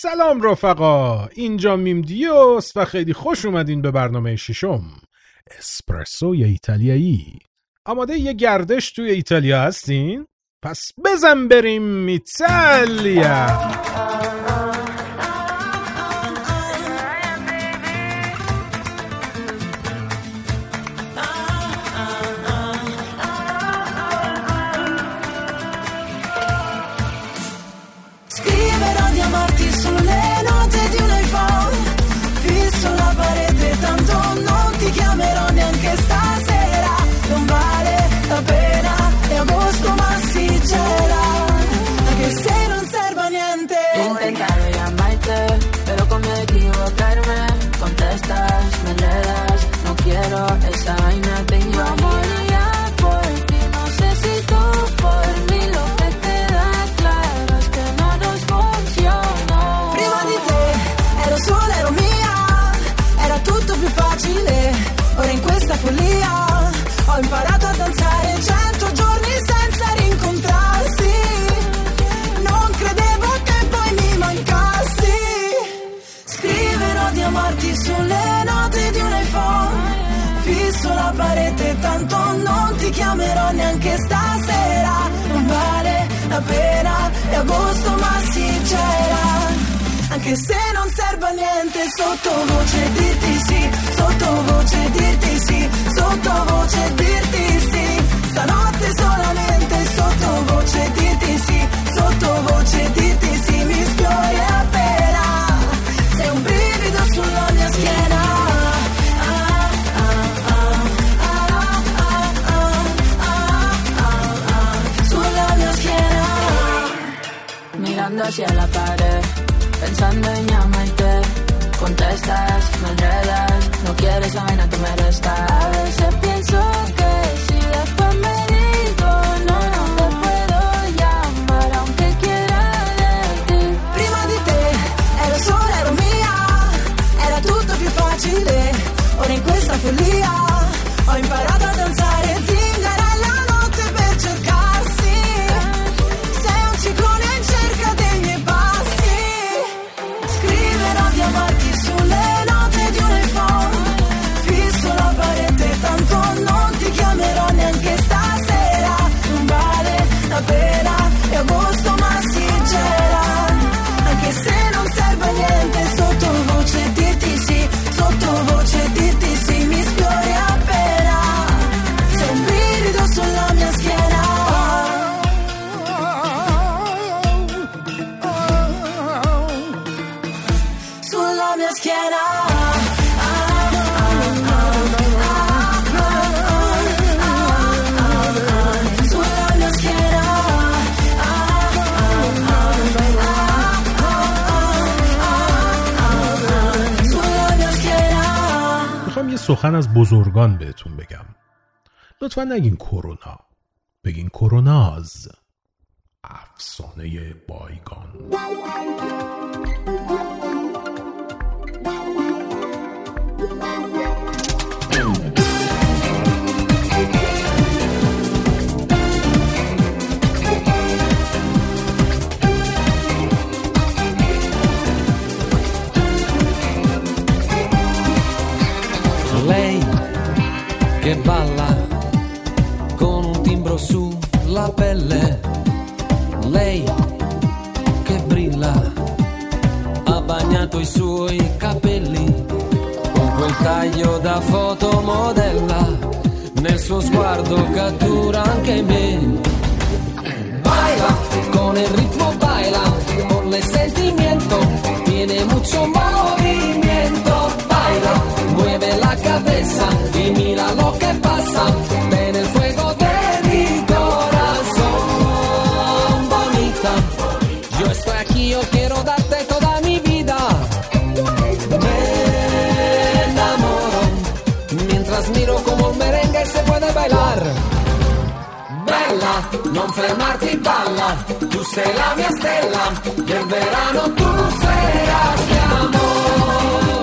سلام رفقا، اینجا میم دیوس و خیلی خوش اومدین به برنامه ششم اسپرسوی ایتالیایی. آماده یه گردش توی ایتالیا هستین؟ پس بزن بریم ایتالیا. Esa vaina tengo moría por ti, no sé si tú por mí, lo que te da claro es que no nos funcionó. Prima di te ero sola, ero mia, era tutto più facile, ora in questa follia ho imparato a danzare 100 giorni senza rincontrarsi, non credevo che poi mi mancassi, scriverò di amarti sulle note di un iPhone, fisso la parete, tanto non ti chiamerò neanche stasera, non vale la pena, è agosto ma si c'era, anche se non serve a niente, sottovoce dirti sì, sottovoce dirti sì, sottovoce dirti sì, stanotte solamente sottovoce dirti sì, sottovoce dirti sì, mi sfiori appena, sei un brivido sulla mia schiena. Mirando hacia la pared, pensando en llamarte, contestas, me enredas, no quieres esa vaina que me resta. A veces pienso que si después me digo no, no te puedo llamar aunque quiera de ti. Prima di te ero sola, ero mia, era tutto più facile, ora in questa follia ho imparato a danzare zingara la notte per cercarsi, sei un ciclone in cerca dei miei passi, scriverò di amarti sulle note di un iPhone, fisso la parete, tanto non ti chiamerò neanche stasera, non vale la pena, è agosto ma si c'era, anche se non serve a niente, sottovoce dirti sì, sottovoce dirti sì, mi sfiori appena, sei un brivido sulla mia schiena. Sulla mia schiena. Sulla mia schiena. Sulla mia schiena. میخوام یه سخن از بزرگان بهتون بگم. لطفا نگین کرونا، بگین کروناز، افسانه بایگان. Lei che balla con un timbro sulla pelle, lei che brilla, ha bagnato i suoi capelli con quel taglio da fotomodella, nel suo sguardo cattura anche me. Baila con el ritmo, baila con el sentimiento, tiene mucho movimiento, baila, mueve la cabeza y mira lo que pasa, ven el fuego de mi corazón, bonita, yo estoy aquí, yo quiero darte toda mi vida, me enamoro, mientras miro como el merengue se puede bailar. Bella, non fermarti, balla, tu sei la mia stella, del verano tu seras mi amor.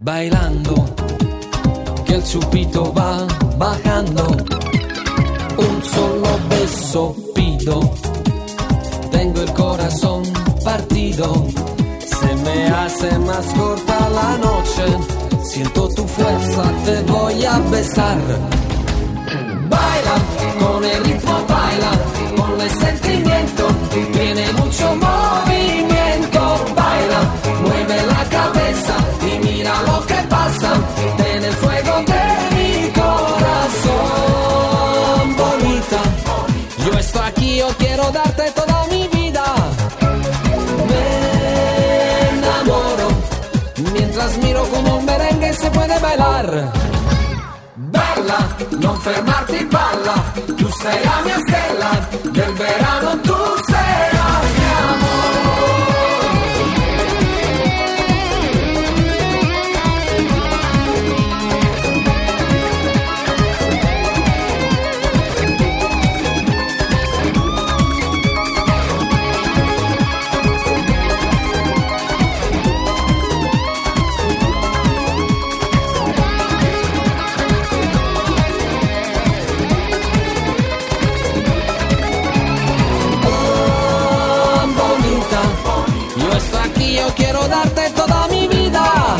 bailando, que el chupito va bajando, un solo beso pido, tengo el corazón partido, se me hace más corta la noche, siento tu fuerza, te voy a besar. Baila, con el ritmo baila, con el sentimiento, tiene mucho movimiento. Baila, mueve la cabeza y mira lo que pasa, en el fuego de mi corazón. Bonita, yo estoy aquí, yo quiero darte toda mi vida. Me enamoro, mientras miro como un merengue se puede bailar. Bella, non fermarti, balla, tu sei la mia stella, del verano tu sei la mia yo quiero darte toda mi vida.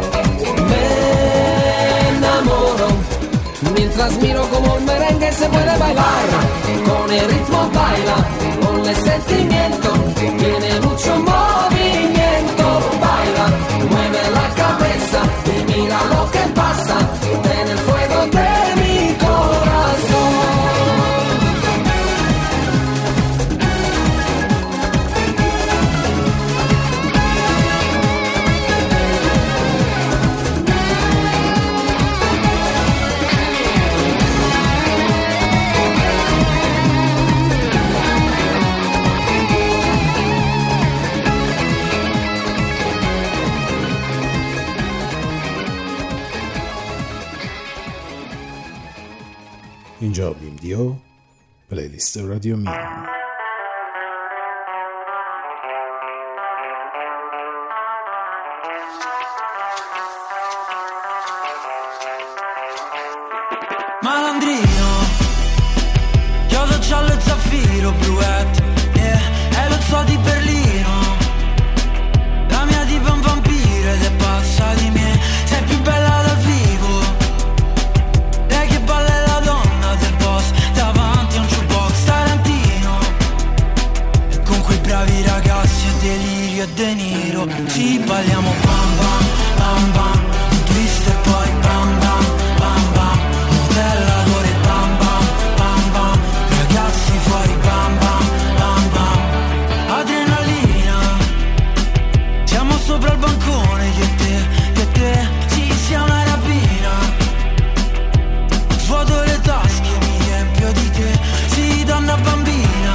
Me enamoro, mientras miro como un merengue se puede bailar. Con el ritmo baila, con el sentimiento, tiene mucho movimiento. Baila, mueve la cabeza y mira lo que pasa, en el fuego de mi corazón. اینجا بیم دیو پلیلیست رادیو میم. Malandrino, chiodo giallo e zaffiro bluette, yeah, e lo zoo di Berlino. La mia tipa è un vampiro ed è pazza di me. Sei più bella dal vivo, lei che balla è la donna del boss, davanti a un jukebox tarantino, e con quei bravi ragazzi e delirio e De Niro. Ci balliamo bam bam bam bam, un twist e poi bam bam bam bam, modellatore bam bam bam bam, ragazzi fuori bam bam bam bam, adrenalina, siamo sopra il bancone che te, ci sia una rapina, svuoto le tasche, mi riempio di te, sì donna bambina,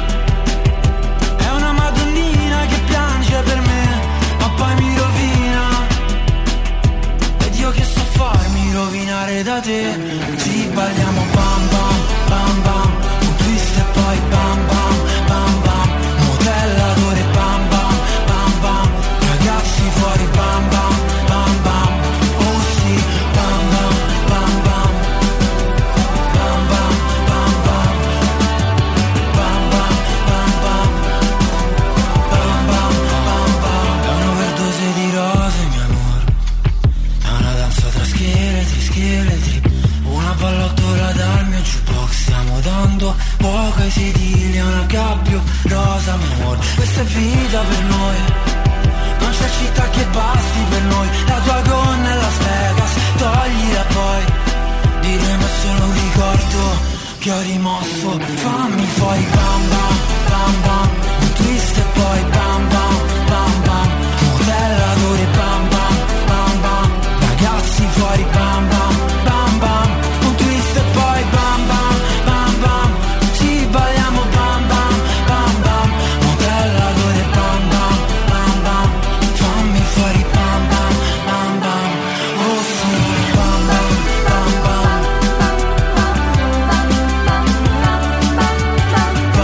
è una madonnina che piange per me, ma poi mi rovina, ed io che so farmi rovinare da te. Ci balliamo bam bam bam bam, un twist e poi bam bam bam bam, modellatore bam bam bam bam, ragazzi fuori bam bam bam bam, oh sì bam bam bam bam, bam bam bam bam, bam bam bam bam, bam bam bam bam. È un'overdose di rose mio amore, è una danza tra scheletri, una pallottola dal mio jukebox, stiamo dando poco ai sedili, è una gabbio rosa mio amore, questa è vita per noi, non c'è città che basti per noi, la tua gonna è Las Vegas, toglila poi, diremo è solo un ricordo che ho rimosso, fammi fuori bam bam bam bam, un twist e poi bam bam bam bam, modellatore bam bam bam bam, ragazzi fuori bam bam bam bam, un twist e poi bam bam bam bam, ci balliamo bam bam bam bam, modellatore bam bam bam bam, fammi fuori bam bam bam bam, oh sì bam bam bam bam, bam bam bam bam.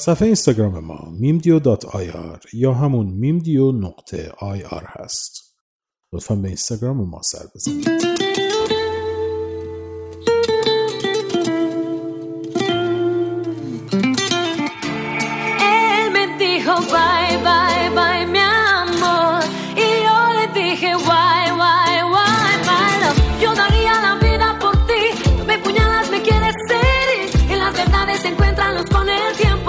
صفحه اینستاگرام ما mimdio.ir یا همون mimdio.ir هست. لطفاً به اینستاگرام ما سر بزنید. Él me dijo bye, bye, bye, mi amor. Y yo le dije why, why, why, my love. Yo daría la vida por ti. Tú me puñalas, me quieres herir. Y las verdades se encuentran luz con el tiempo.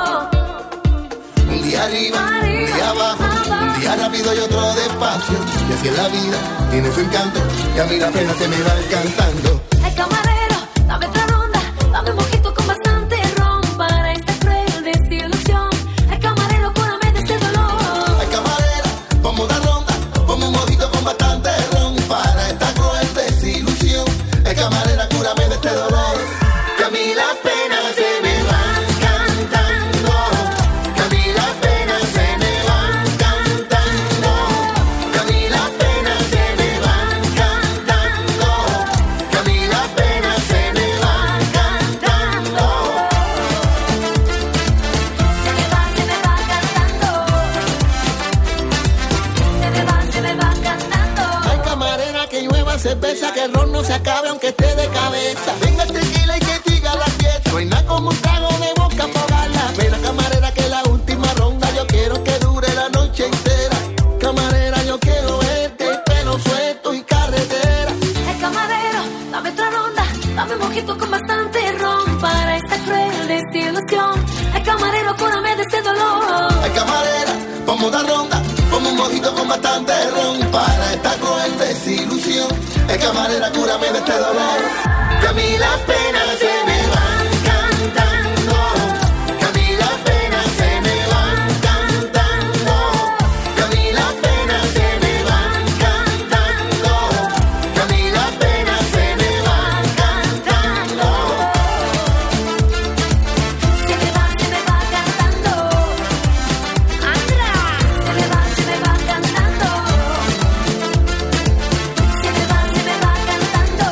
Un día arriba, un día abajo, un día rápido y otro despacio. Y así es la vida, tiene su encanto. Y a mí la pena se me va encantando. Ay, camarero, dame otra ronda. Dame un mojito con bastante ron para esta cruel desilusión. Ay, camarero, cúrame de este dolor. Ay, camarera, ponme una ronda. Ponme un mojito con bastante ron para esta cruel desilusión. Ay, camarera, cúrame de este dolor. Que a mí las penas se me van cantando. Que a mí las penas se me van cantando. Que a mí las penas se me van cantando. Que a mí las penas se me van cantando. Se me va cantando. Se me va cantando. Ay, camarera, que llueva cerveza, que el ron no se acabe aunque esté de cabeza. Venga el tequila y que siga la fiesta. No hay nada como un trago de boca para ahogar la pena. Camarera, que la última ronda yo quiero que dure la noche entera. Camarera, yo quiero verte, pelo suelto y carretera. Ay, camarero, dame otra ronda. Dame un mojito con bastante ron para esta cruel desilusión. Ay, camarero, cúrame de este dolor. Ay, camarera, ponme una ronda. Ponme un mojito con bastante ron para esta cruel desilusión. Ay, camarera, cúrame de este dolor. Que a mí las penas se me van cantando. Que a mí las penas se me van cantando. Que a mí las penas se me van cantando. Que a mí las penas se me van cantando. Se me va cantando. Andra. Se me va cantando. Se me va cantando.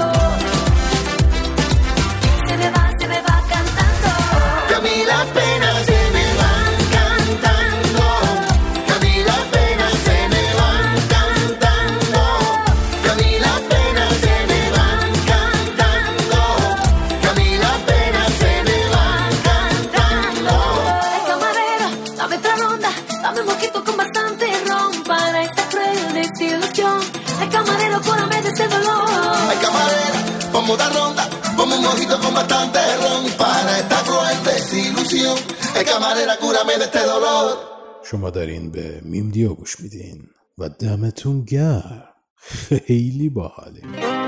Se me va cantando. Que a mí las penas se me van cantando. Que a mí las penas se me van cantando. Que a mí las penas se me van cantando. Que a mí las penas se me van cantando. Ay, camarero, dame otra ronda. Dame un mojito con bastante ron para esta cruel desilusión. Ay, camarero, cúrame de este dolor. Ay, camarera, ponme una ronda. Ponme un mojito con bastante ron para esta cruel desilusión. Ay, camarera, cúrame de este dolor. شما دارین به میمدیو گوش میدین و دمتون گرم. خیلی باحاله.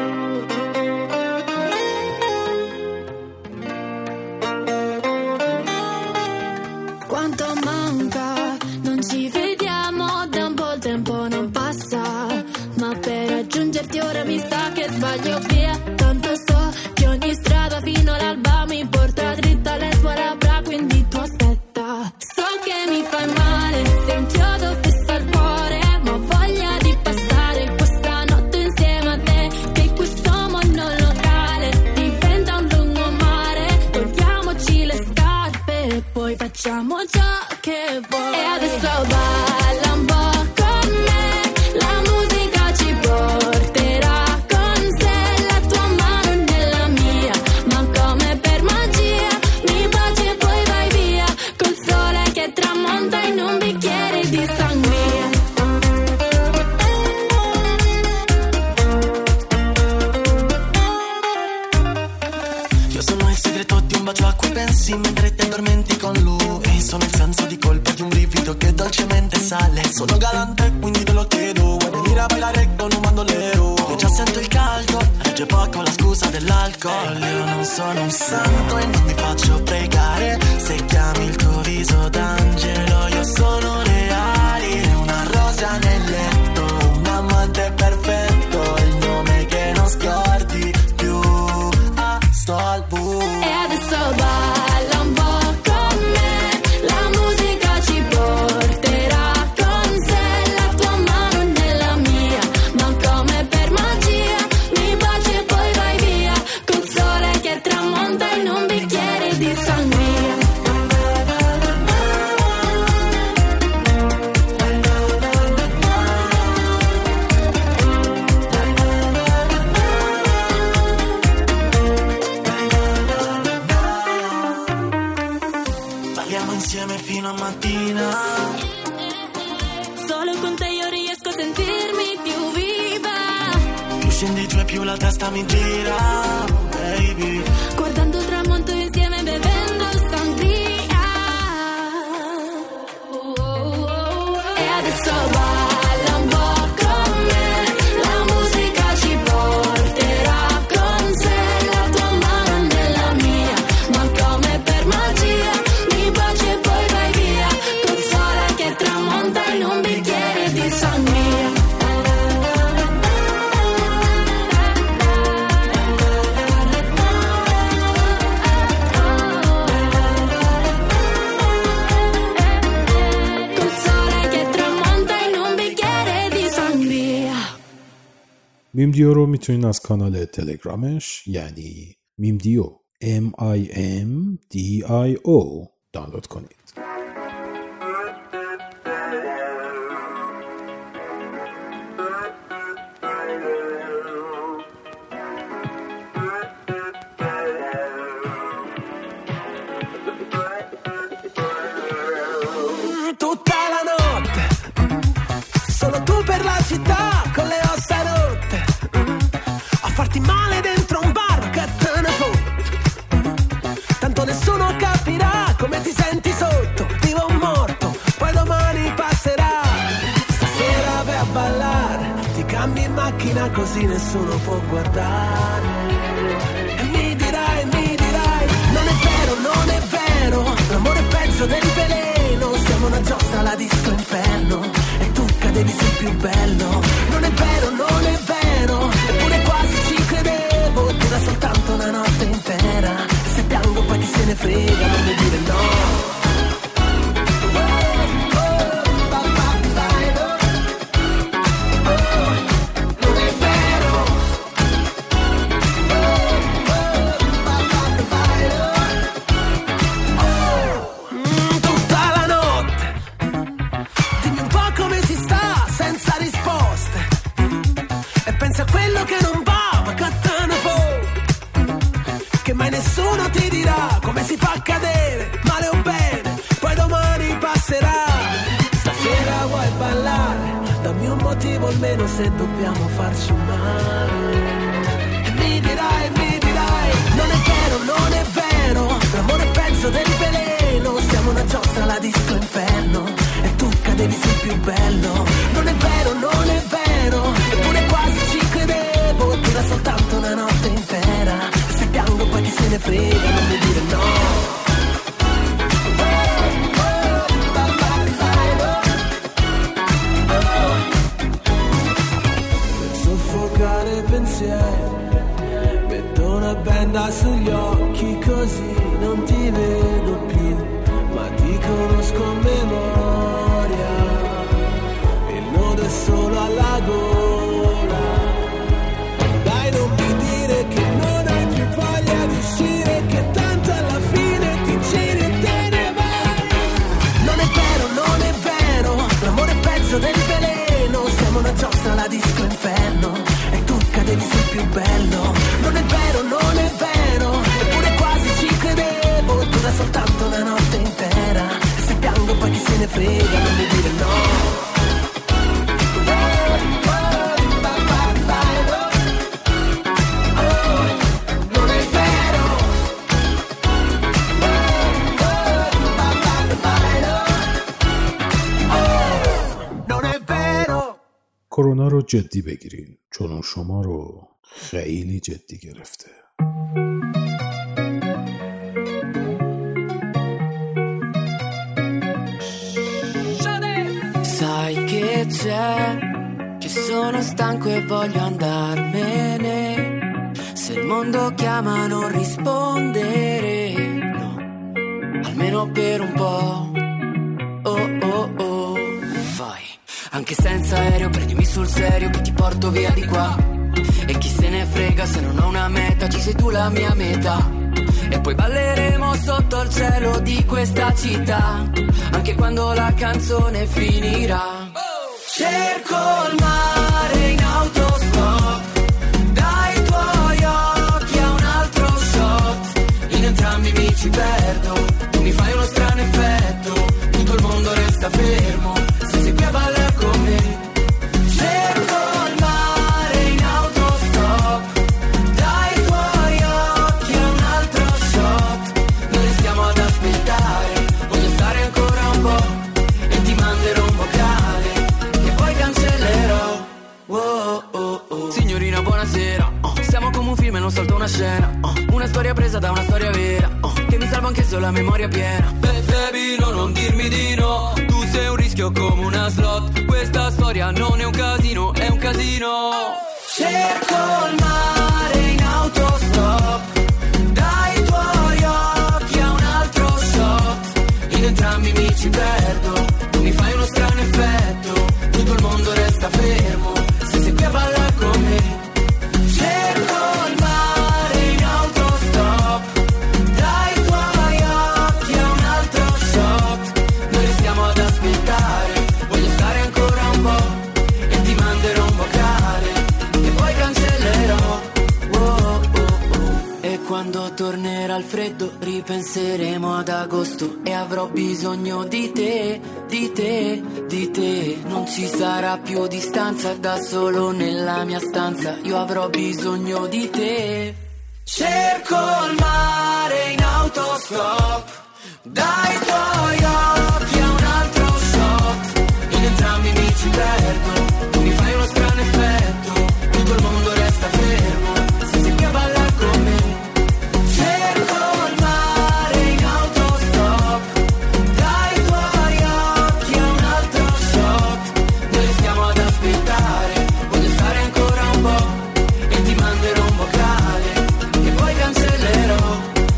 Quanto manca, non ci vediamo da un po' il tempo non passa. Ma per raggiungerti ora mi sa che sbaglio via. Tanto so che ogni strada fino all'alba mi porta dritta alle tue labbra, quindi tu aspetta. So che mi fai male, se inchiodo fissa il cuore, ma ho voglia di passare questa notte insieme a te. Che questo mondo locale diventa un lungomare. Togliamoci le scarpe e poi facciamo ciò che vuoi. E adesso balla un po' con me, la musica ci porterà con sé. La tua mano nella mia, ma come per magia mi baci e poi vai via, col sole che tramonta in un bicchiere di sangria. Io sono il segreto di un bacio a cui pensi mentre ti addormenti con lui. Sono il senso di colpa di un brivido che dolcemente sale. Sono galante, quindi te lo chiedo. Vuoi venire a ballare con un bandolero? Io già sento il caldo, regge poco la scusa dell'alcol. Io non sono un santo e non mi faccio pregare. Se chiami il tuo viso d'angelo, io sono reale. Una rosa nel letto, un amante perfetto, il nome che non scordi più. Ah, sto al buio. E adesso balla un po' con me, la musica ci porterà con sé. La tua mano nella mia, ma come per magia mi baci e poi vai via, col sole che tramonta in un bicchiere di sangria. mattina a mattina. Solo con te io riesco a sentirmi più viva. Più scendi giù e più la testa mi gira, baby. Guardando il tramonto insieme bevendo sangria. E adesso balla un po' con me. La musica ci porterà con sé. La tua mano nella mia, ma come per magia. Mi baci e poi vai via. Col sole che tramonta in un bicchiere di sangria. میمدیو رو میتونین از کانال تلگرامش یعنی میمدیو MIMDIO دانلود کنید. Tutta la notte, solo tu per la città, con le ossa rotte, a farti male dentro un bar, che te ne fotte. Tanto nessuno capirà come ti senti sotto, vivo o morto, poi domani passerà. Stasera vai a ballare, ti cambi in macchina così nessuno può guardare. E mi dirai, non è vero, l'amore è peggio del veleno. Siamo una giostra alla disco inferno e tu cadevi sul più bello. Non è vero, eppure quasi ci credevo. Dura soltanto una notte intera. Se piango poi chi se ne frega, non mi dire no. Nessuno ti dirà come si fa a cadere, male o bene, poi domani passerà. Stasera vuoi ballare, dammi un motivo almeno se dobbiamo farci male. E mi dirai, non è vero, l'amore è peggio del veleno. Siamo una giostra alla disco inferno e tu cadevi sul più bello. Non è vero, eppure quasi ci credevo. Dura soltanto una notte intera. Piango poi chi se ne frega, non mi dire no. Per soffocare i pensieri metto una benda sugli occhi così non ti vedo più, ma ti conosco a memoria. Il nodo è solo alla gola. Dai, non mi dire che non hai più voglia di uscire, che tanto alla fine ti giri e te ne vai. Non è vero, l'amore è peggio del veleno. Siamo una giostra alla disco inferno e tu cadevi sul più bello. Non è vero, eppure quasi ci credevo. Dura soltanto una notte intera. Se piango poi chi se ne frega, non mi dire no. کرونا رو جدی بگیرین چون شما رو خیلی جدی گرفته. Sai che c'è, che sono stanco e voglio andarmene. Se il mondo chiama non rispondere, no, almeno per un po'. Oh oh oh, vai. Anche senza aereo prendimi sul serio che ti porto via di qua. E chi se ne frega se non ho una meta, ci sei tu la mia metà. E poi balleremo sotto il cielo di questa città, anche quando la canzone finirà. Cerco il mare in autostop, dai tuoi occhi a un altro shot. In entrambi mi ci perdo, tu mi fai uno strano effetto. una storia presa da una storia vera, che mi salva anche se ho la memoria piena. Baby, non dirmi di no, tu sei un rischio come una slot. Questa storia non è un casino, è un casino. Cerco il mare in autostop, dai tuoi occhi a un altro shot. In entrambi mi ci perdo, tu mi fai uno strano effetto, tutto il mondo resta fermo se sei qui a ballare con me. Cerco il mare in autostop, dai tuoi occhi a un altro shot. Noi restiamo ad aspettare, voglio stare ancora un po' e ti manderò un vocale e poi cancellerò. E quando tornerà il freddo ripenseremo ad agosto e avrò bisogno di te, di te, di te. Non ci sarà più distanza, da solo nella mia stanza io avrò bisogno di te. Cerco il mare in autostop, dai tuoi occhi a un altro shot. In entrambi mi ci perdo, tu mi fai uno strano effetto, tutto il mondo resta fermo se sei qui a ballare con me. Cerco il mare in autostop, dai tuoi occhi a un altro shot. Noi restiamo ad aspettare, voglio stare ancora un po' e ti manderò un vocale e poi cancellerò.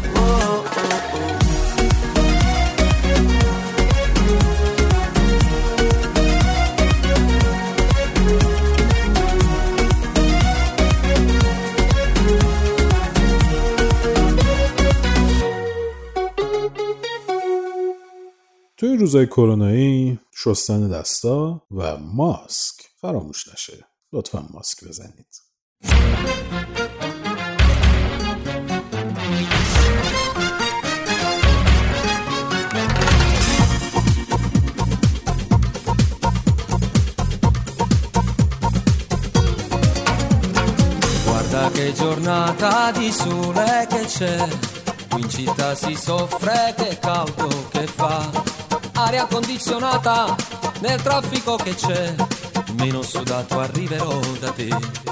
توی روزای کرونایی شستن دستا و ماسک فراموش نشه. لطفا ماسک بزنید. Guarda che giornata di sole che c'è, qui in città si soffre, che caldo che fa. Aria condizionata nel traffico che c'è, meno sudato arriverò da te.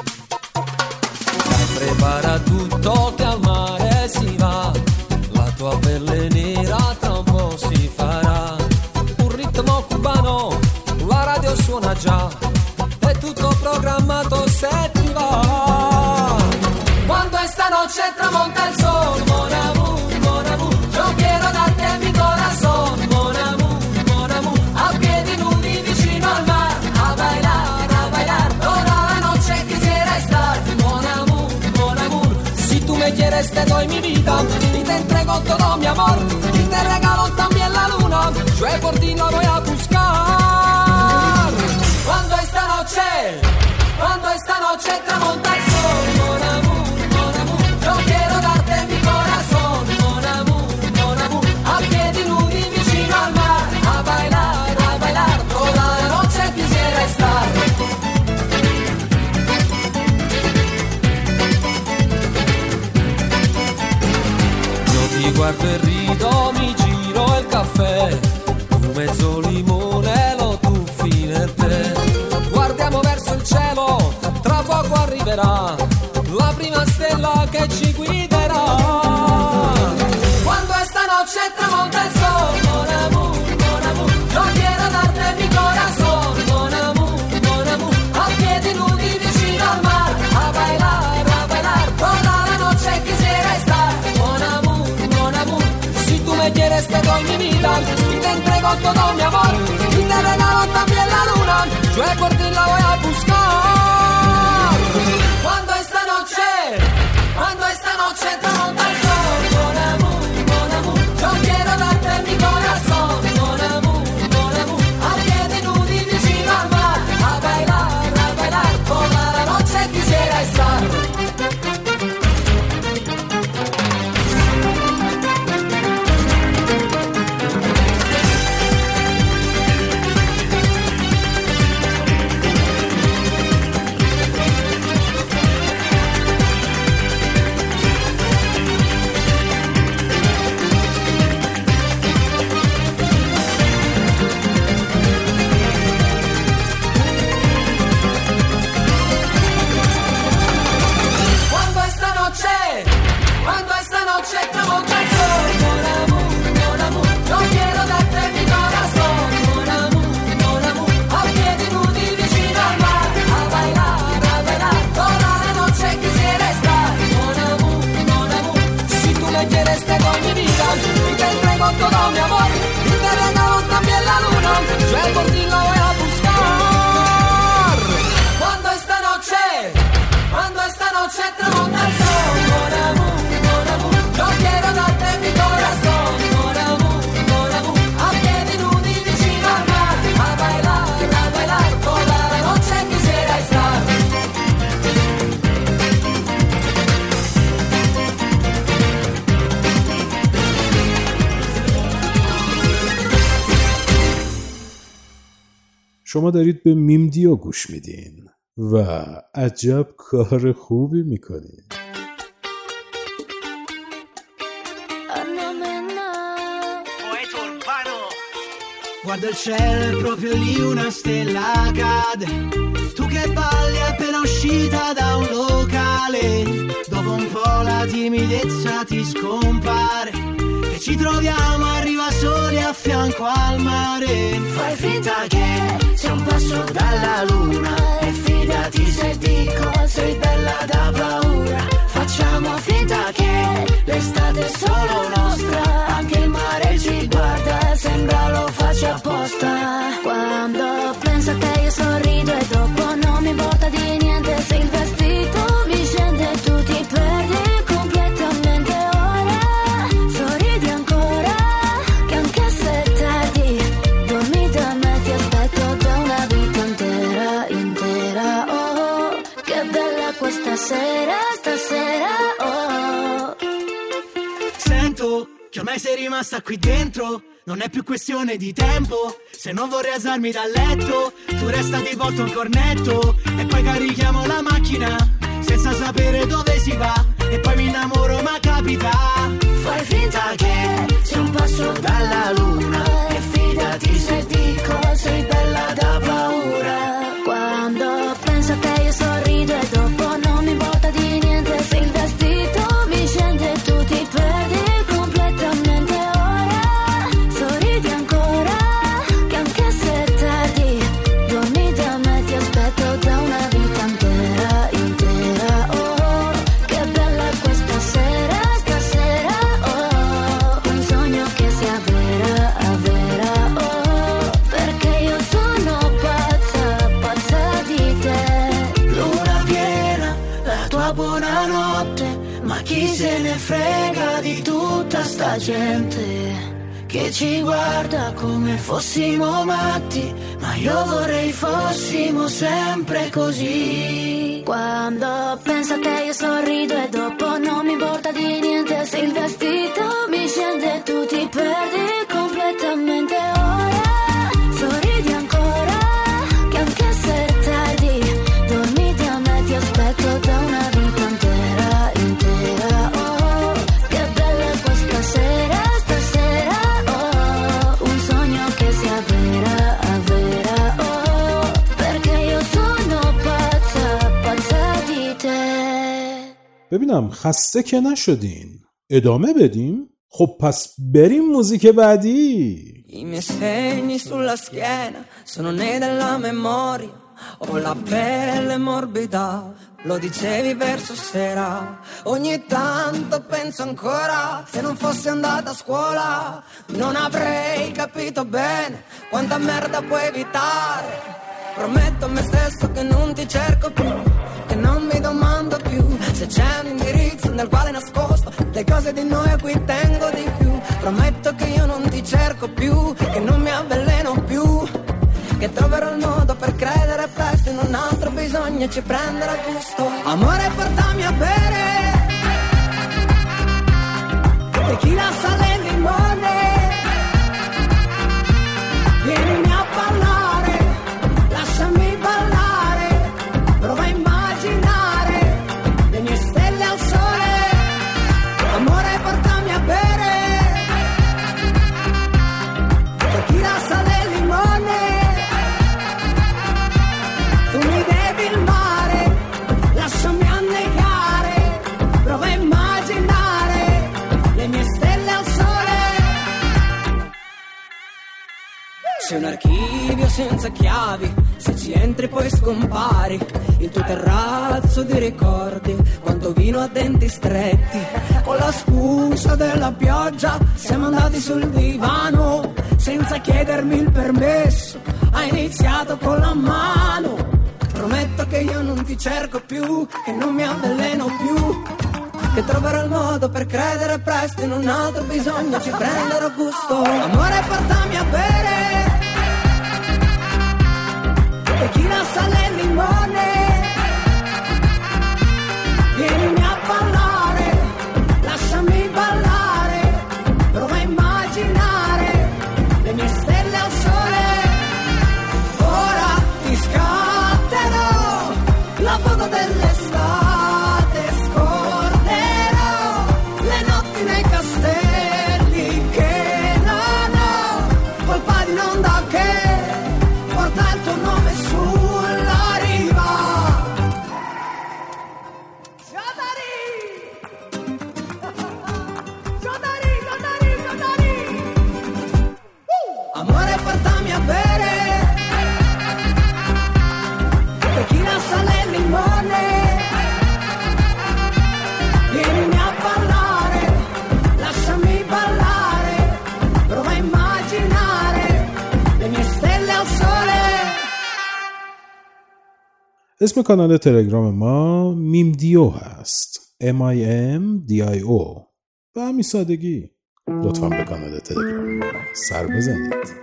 Dai, prepara tutto che al mare si va, la tua pelle nera tra un po' si farà. Un ritmo cubano, la radio suona già, è tutto programmato se ti va. Quando esta noche tramonta el sol, mon amour, yo quiero darte mi corazón, mon amour, a piedi nudi vicino al mar, a bailar, toda la noche quisiera estar, mon amour, si tú me quieres te doy mi vida, y te entrego todo mi amor, y te regalo también la luna, yo por ti la voy a buscar. Cuando esta noche tramonta el sol, mon amour, yo quiero darte mi corazón, mon amour, a piedi nudi vicino al mar, a bailar, toda la noche quisiera estar. Io ti guardo e rido, mi giro il caffè, un mezzo limone lo tuffi nel tè. Guardiamo verso il cielo, tra poco arriverà la prima stella che ci guiderà. Quando esta noche tramonta el sol, mon amour, yo quiero darte mi corazón, mon amour, a piedi nudi vicino al mar, a bailar, toda la noche quisiera estar, mon amour, si tú me quieres te doy mi vida, y te entrego todo mi amor, y te regalo también la luna, yo por ti la voy a buscar. Cuando esta noche tramonta el sol, mon amour, yo quiero darte mi corazón, mon amour, a piedi nudi vicino al mar, a bailar, toda la noche quisiera estar. quieres te doy mi vida y te entrego todo mi amor y te regalo también la luna, yo por ti la voy a buscar. Cuando esta noche tramonta el sol, mon amour, yo quiero darte mi corazón, mon amour, a piedi nudi vicino al mar, a bailar, toda la noche quisiera estar. شما دارید به میمدیو گوش میدین و عجب کار خوبی میکنین. Guarda il cielo, proprio lì una stella cade. Tu che balli appena uscita da un locale. Dopo un po' la timidezza ti scompare e ci troviamo a riva soli a fianco al mare. Fai finta che sei un passo dalla luna e fidati se dico sei bella da paura. Facciamo finta che l'estate è solo nostra, anche il mare ci guarda, sembra lo faccia apposta. Quando penso a te io sorrido e dopo non mi importa di niente se il vestito mi scende e tu ti perdi completamente. Ora sorridi ancora che anche se è tardi dormi da me, ti aspetto da una vita intera. Oh, che bella questa sera, stasera. Oh, sento che ormai sei rimasta qui dentro. Non è più questione di tempo. Se non vorrei alzarmi dal letto, tu resta ti porto un cornetto e poi carichiamo la macchina senza sapere dove si va. E poi mi innamoro ma capita. Fai finta che sei un passo dalla luna e fidati se dico sei bella da paura. quando penso a te io sorrido e dopo non mi importa di niente se il vestito mi scende e tu ti perdi completamente. Ora sorridi ancora che anche se è tardi dormi da me, ti aspetto da una vita intera. Oh, che bella questa sera, stasera. Oh, un sogno che sia vera. Oh, perché io sono pazza di te. Luna piena, la tua buonanotte, ma chi se ne frega di tutta sta gente che ci guarda come fossimo matti, ma io vorrei fossimo sempre così. Quando penso a te io sorrido e dopo non mi importa di niente se il vestito mi scende e tu ti perdi completamente. Ora sorridi ancora che anche se è tardi dormi da me, ti aspetto da una vita intera. Oh, che bella questa sera, stasera. Oh, un sogno che sia vera. Oh, perché io sono pazza di te. ببینم خسته که نشدین، ادامه بدیم؟ خب پس بریم موزیک بعدی. I miei segni sulla schiena sono nei della memoria, ho la pelle morbida, lo dicevi verso sera. Ogni tanto penso ancora, se non fossi andata a scuola non avrei capito bene quanta merda puoi evitare. Prometto a me stesso che non ti cerco più, che non mi domando più se c'è un indirizzo nel quale nascosto le cose di noi a cui tengo di più. Prometto che io non ti cerco più, che non mi avveleno più, che troverò il modo per credere presto in un altro bisogno e ci prenderà gusto. Amore, portami a bere tequila, sale e limone, vienimi a ballare, lasciami ballare, prova a immaginare le mie stelle al sole. Amore, portami a bere tequila, sale e limone, tu mi devi il mare, lasciami annegare, prova a immaginare le mie stelle al sole. C'è un archivio senza chiavi, se ci entri poi scompari, il tuo terrazzo di ricordi, quanto vino a denti stretti, con la la scusa della pioggia siamo andati sul divano senza chiedermi il permesso. Hai iniziato con la mano. Prometto che io non ti cerco più, che non mi avveleno più, che troverò il modo per credere presto in un altro bisogno, ci prenderò gusto. Amore, portami a bere tequila, sale e limone. Vienimi a ballare, lasciami ballare, prova a immaginare le mie stelle al sole. Ora ti scatterò la foto dell'estate, scorderò le notti nei castelli che non ho colpa di un'onda che porta il tuo nome sulla riva. Amore, portami a bere tequila, sale e limone. Vienimi a ballare, lasciami ballare, prova a immaginare le mie stelle al sole. اسم کانال تلگرام ما میمدیو هست. MIMDIO. به همین سادگی. لطفاً به کانال تلگرام ما سر بزنید.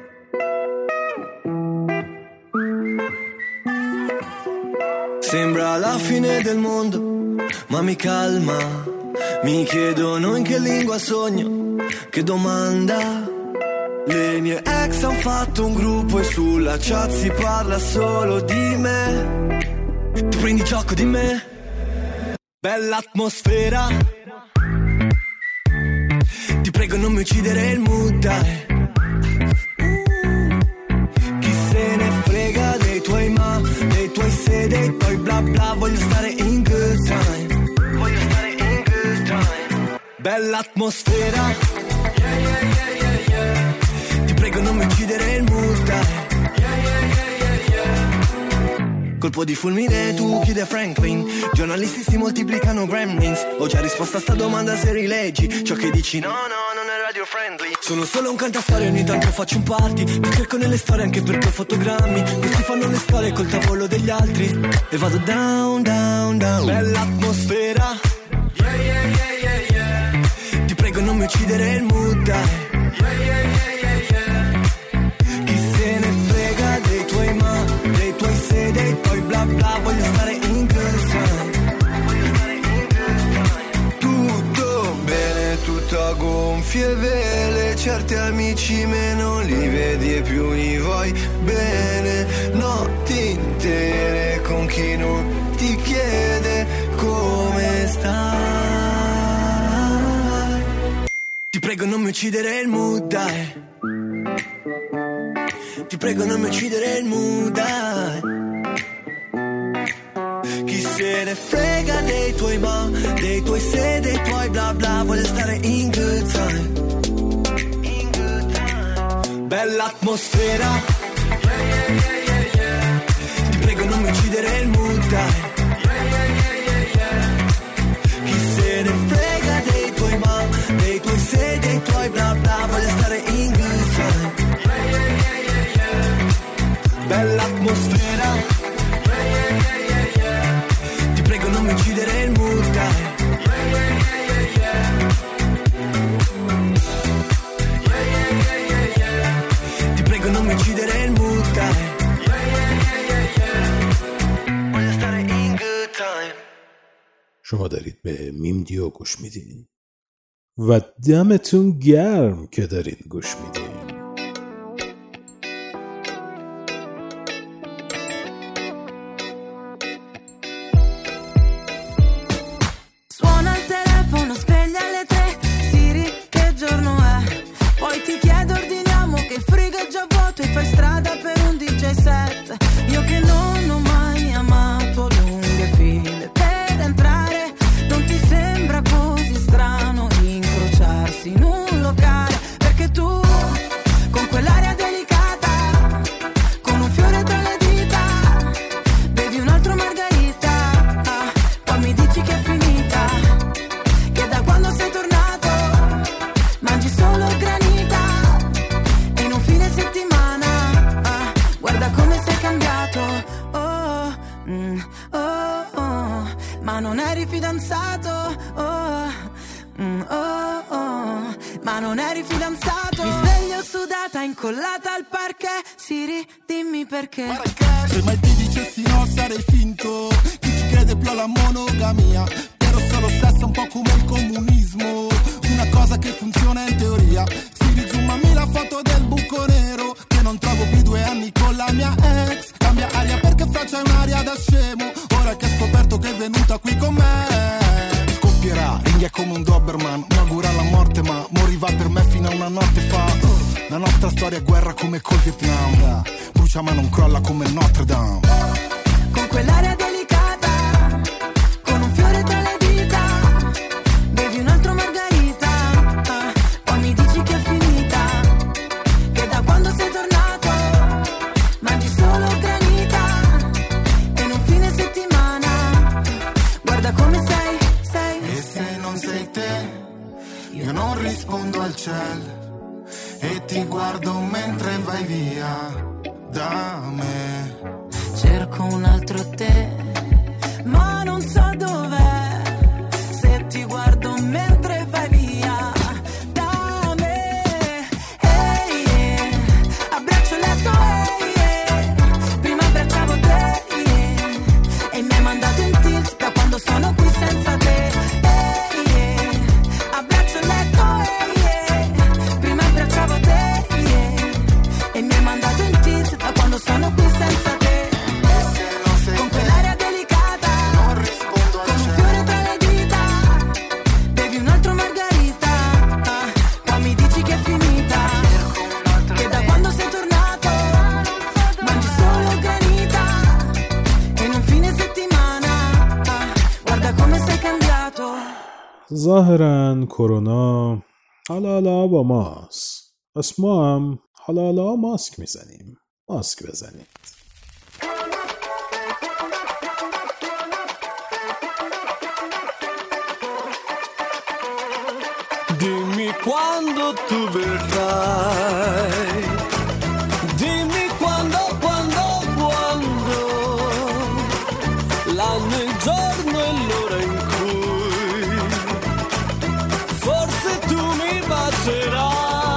Sembra la fine del mondo, ma mi calma. Mi chiedono in che lingua sogno, che domanda. Le mie ex han fatto un gruppo e sulla chat si parla solo di me. Tu prendi gioco di me, bella atmosfera. Ti prego non mi uccidere il mood, dai. Chi se ne frega dei tuoi ma, dei tuoi se, dei tuoi bla bla. Voglio stare in good time, voglio stare in good time. Bella atmosfera, yeah, yeah, yeah, yeah, yeah. Ti prego non mi uccidere il mood, dai. Colpo di fulmine, tu chiudi Franklin. Giornalisti si moltiplicano gremlins. Ho già risposto a sta domanda se rileggi ciò che dici, no, no, non è radio friendly. Sono solo un cantastorie, ogni tanto faccio un party. Mi cerco nelle storie anche perché ho fotogrammi. Questi fanno le storie col tavolo degli altri. E vado down, down, down. Bella atmosfera, yeah, yeah, yeah, yeah, yeah. Ti prego non mi uccidere il mood, dai. Yeah, yeah, yeah, yeah, yeah. Chi se ne frega dei tuoi ma, dei tuoi se, dei tuoi bla bla. Voglio stare in good time, voglio stare in good time. Tutto bene, tutto a gonfie vele. Certi amici meno li vedi e più li vuoi bene. Notti intere con chi non ti chiede come stai. Ti prego non mi uccidere il mood, dai. Ti prego non mi uccidere il mood, dai. Chi se ne frega dei tuoi ma, dei tuoi se, dei tuoi bla bla. Voglio stare in good time, in good time. Bella atmosfera, yeah, yeah, yeah, yeah, yeah. Ti prego non mi uccidere il mood, dai. Yeah, yeah, yeah, yeah, yeah. Chi se ne frega dei tuoi ma, dei tuoi se, dei tuoi bla bla. Voglio stare in good time, yeah, yeah, yeah, yeah, yeah. Bella atmosfera, yeah, yeah, yeah, yeah, yeah. Ti prego non mi uccidere il mood, dai. Yeah, yeah, yeah, yeah, yeah. Yeah, yeah, yeah, yeah, yeah. Ti prego non mi uccidere il mood, dai. Yeah, yeah, yeah, yeah, yeah. Voglio stare in good time. شما دارید به میمدیو گوش میدین و دمتون گرم که دارین گوش میدین. Suona il telefono, sveglia alle 3. Siri, che giorno è? Poi ti chiedo, ordiniamo che il frigo è già vuoto e fai strada per un DJ set. Io che non ho mai amato lunghe file per entrare. Non ti sembra così strano incrociarsi in un locale? Perché tu ma non eri fidanzato. Mi sveglio sudata, incollata al parquet. Siri, dimmi perché. Se mai ti dicessi no sarei finto. Chi ci crede più alla monogamia? Però solo sesso un po' come il comunismo, una cosa che funziona in teoria. Si zoomami la foto del buco nero, che non trovo più 2 anni con la mia ex. Cambia aria perché fra c'è un'aria da scemo, ora che ho scoperto che è venuta qui con me. Scoppierà, ringhia come un Doberman, mi augura la morte ma moriva per me fino a una notte fa. La nostra storia è guerra come col Vietnam, brucia ma non crolla come Notre Dame. Con quell'aria delicata, con un fiore tra le dita, bevi un altro margarita, poi mi dici che è finita, che da quando sei tornato mangi solo granita, e in un fine settimana guarda come sei. E se non sei te, io non rispondo al cielo e ti guardo mentre vai via da me. Cerco un altro te, ma non so dov'è. Se ti guardo mentre vai via da me. Hey, yeah. Abbraccio il letto, hey, yeah. Prima abbracciavo te, yeah. E mi hai mandato in tilt da quando sono qui senza te. Hey, yeah. Abbraccio il letto, hey, yeah. Prima abbracciavo te, yeah. E mi hai mandato in tilt da quando sono qui senza te. Con quell'aria delicata, non rispondo con un fiore tra le dita, bevi un altro margarita, poi mi dici che è finita, che da quando sei tornato mangi solo granita, e in un fine settimana guarda come sei cambiato. ظاهراً کرونا حالا با ماست، پس ما هم حالا ماسک میزنیم. ماسک بزنید. Dimmi quando tu verrai, dimmi quando, l'anno, il giorno e l'ora in cui forse tu mi bacerai.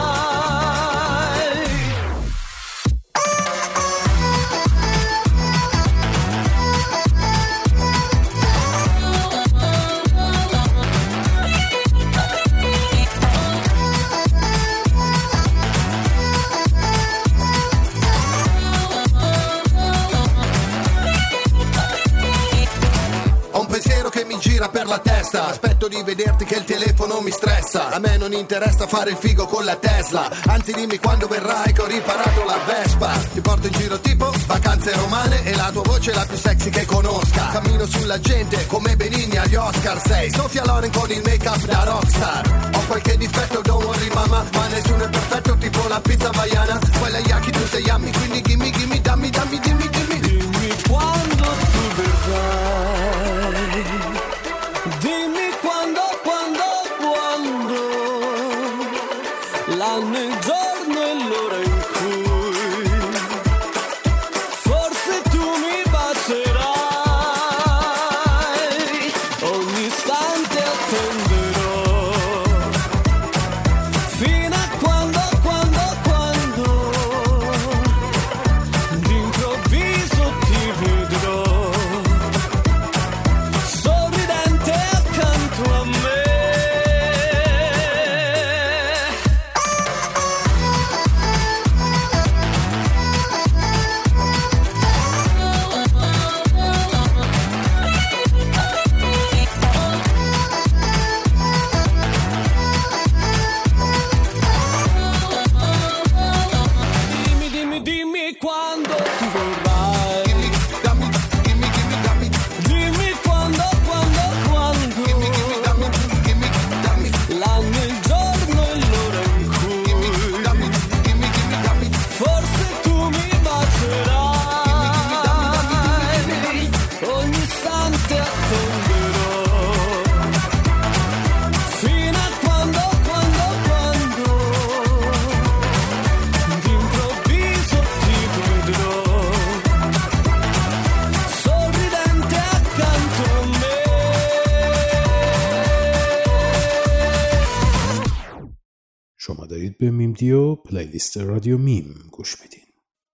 Per la testa, aspetto di vederti che il telefono mi stressa. A me non interessa fare il figo con la Tesla, anzi dimmi quando verrai che ho riparato la Vespa. Ti porto in giro tipo vacanze romane e la tua voce è la più sexy che conosca. Cammino sulla gente come Benigni agli Oscar. Sei Sofia Loren con il make up da rockstar. Ho qualche difetto, don't worry mama, ma nessuno è perfetto tipo la pizza hawaiana. Quella yaki tu sei yummy, quindi dimmi, dammi, dimmi. Dimmi quando tu verrai, dimmi quando, l'anno, il giorno e l'ora in cui forse tu mi bacerai. Ogni istante attenderò fino a quando d'improvviso ti vedrò sorridente accanto a me. شما دارید به میم دیو پلیلیست رادیو میم گوش میدین.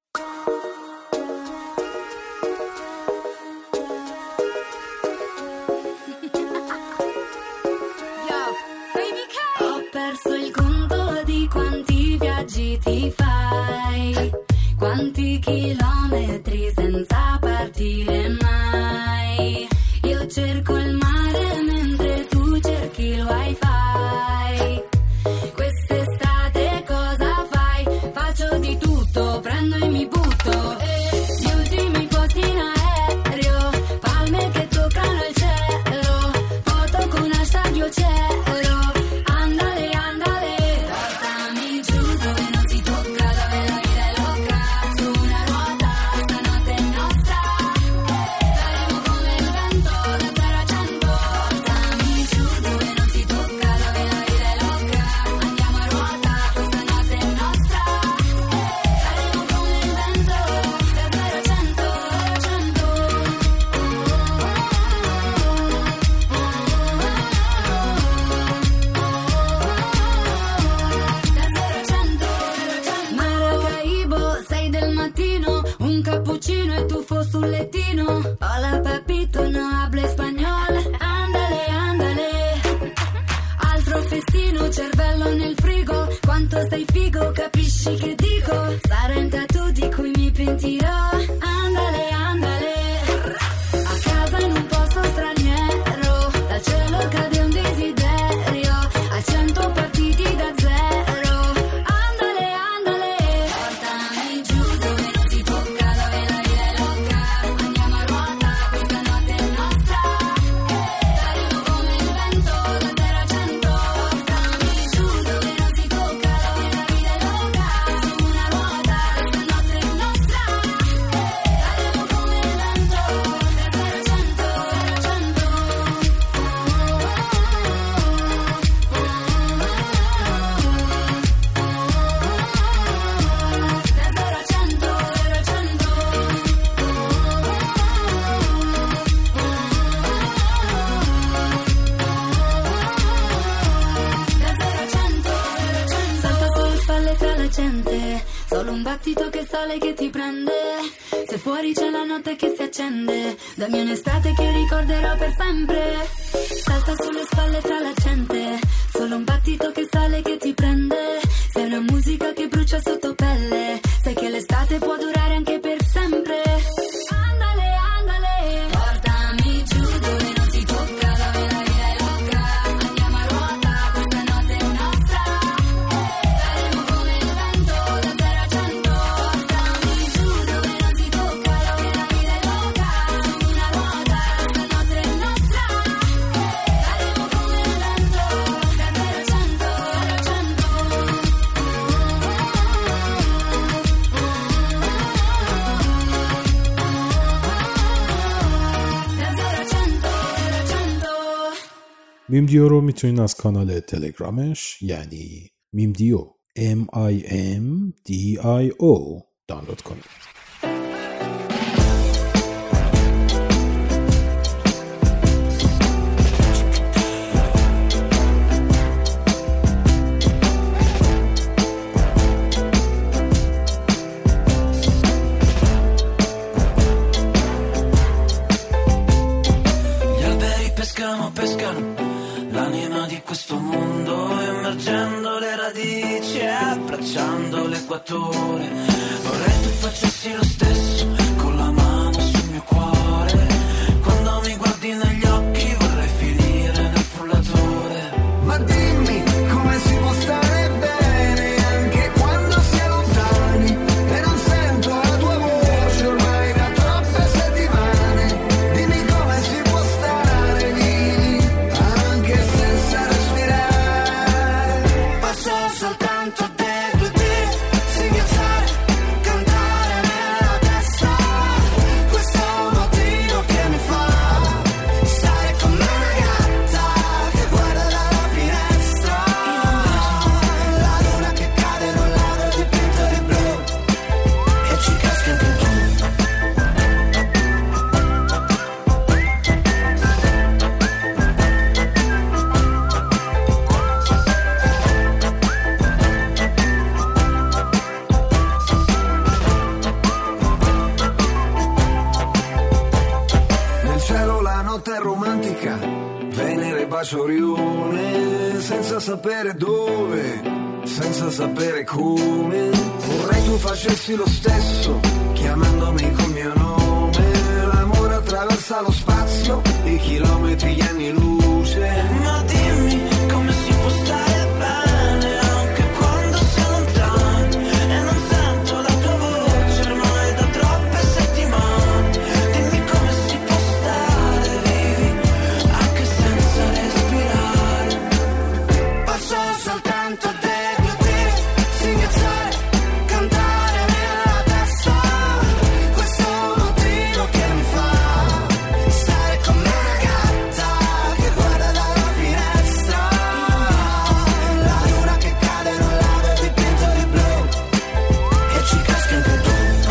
Ho perso il conto di quanti viaggi ti fai, quanti chilometri senza partire mai. Io cerco il mare mentre tu cerchi il wifi. Quest'estate cosa fai? Faccio di tutto, prendo e mi butto. Gli ultimi posti in aereo, palme che toccano il cielo, foto con hashtag io c'ero. Andale, andale, portami giù dove non si tocca, dove la vita è loca. Su una ruota, stanotte è nostra. Faremo come il vento, da 0 a 100. Portami giù dove non si tocca, dove la vita è loca. Andiamo a ruota, stanotte è nostra. Faremo come il vento, da 0 a 100, 0 a 100. Maracaibo, 6 del mattino, un cappuccino e tuffo sul lettino. Hola papito, no hablo español. Andale, andale. Altro festino, cervello nel frigo. Quanto sei figo, capisci che dico? Sarà un tattoo di cui mi pentirò. Andale, andale. A casa in un posto straniero, dal cielo cade un desiderio. A 100 partiti da zero. Andale, andale. Portami giù dove non si tocca, dove la vita è loca. Andiamo a ruota, questa notte è nostra. Faremo come il vento, da 0 a 100. Portami giù dove non si tocca, dove la vita è loca. Su una ruota, questa notte è nostra. Faremo come il vento, da 0 a 100, 0 a 100. Salta sulle spalle tra la gente, solo un battito che sale che ti prende. Se fuori c'è la notte che si accende, dammi un'estate che ricorderò per sempre. Salta sulle spalle tra la gente, solo un battito che sale che ti prende. Sei una musica che brucia sotto pelle, sai che l'estate può durare anche per sempre. Andale, andale, portami giù dove non si tocca, dove la vita è loca. Andiamo a ruota, questa notte è nostra. Faremo come il vento, da 0 a 100. Portami giù dove non si tocca, dove la vita è loca. Su una ruota, questa notte è nostra. Faremo come il vento, da 0 a 100, 0 a 100. میم دیو رو میتونین از کانال تلگرامش یعنی میم دیو MIMDIO دانلود کنید. Gli alberi pescano, pescano l'anima di questo mondo, immergendo le radici e abbracciando l'equatore. Vorrei tu facessi lo stesso con la mano sul mio cuore. Quando mi guardi negli occhi vorrei finire nel frullatore. Ma dimmi come si può stare bene anche quando si è lontani e non sento la tua voce ormai da troppe settimane. Dimmi come si può stare vivi anche senza respirare. Passo soltanto dei due te, singhiazzare, cantare nella testa. sapere dove, senza sapere come. Vorrei tu facessi lo stesso, chiamandomi col mio nome. L'amore attraversa lo spazio, i chilometri, gli anni luce. Ma dimmi come si può stare bene anche quando si è lontani e non sento la tua voce ormai da troppe settimane. Dimmi come si può stare vivi anche senza respirare. Passo soltanto degli odori, singhiozzare, cantare nella testa. Questo è un motivo che mi fa stare come una gatta che guarda dalla finestra. La luna che cade in un lago dipinto di blu e ci casca anche tu.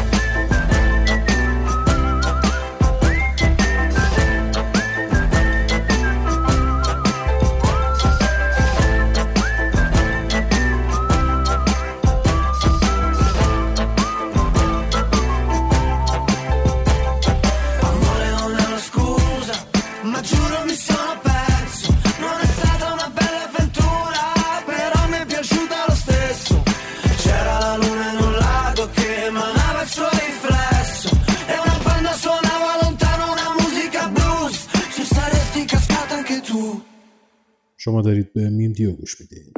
Amore non è una scusa, ma giuro mi sono perso. Non è stata una bella avventura, però mi è piaciuta lo stesso. C'era la luna in un lago che emanava il suo riflesso e una banda suonava lontano una musica blues. Ci saresti cascata anche tu. شما دارید به میم دیو گوش میدید.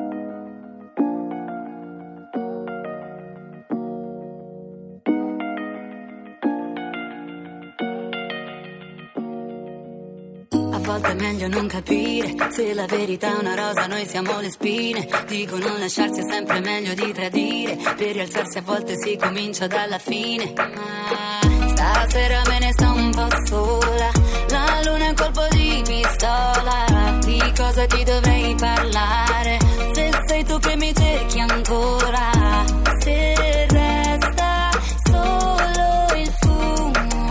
A volte è meglio non capire se la verità è una rosa, noi siamo le spine. Dicono lasciarsi è sempre meglio di tradire. Per rialzarsi a volte si comincia dalla fine. Stasera me ne sto un po' sola. La luna è un colpo di pistola. Di cosa ti dovrei parlare? Se sei tu che mi cerchi ancora. Se resta solo il fumo,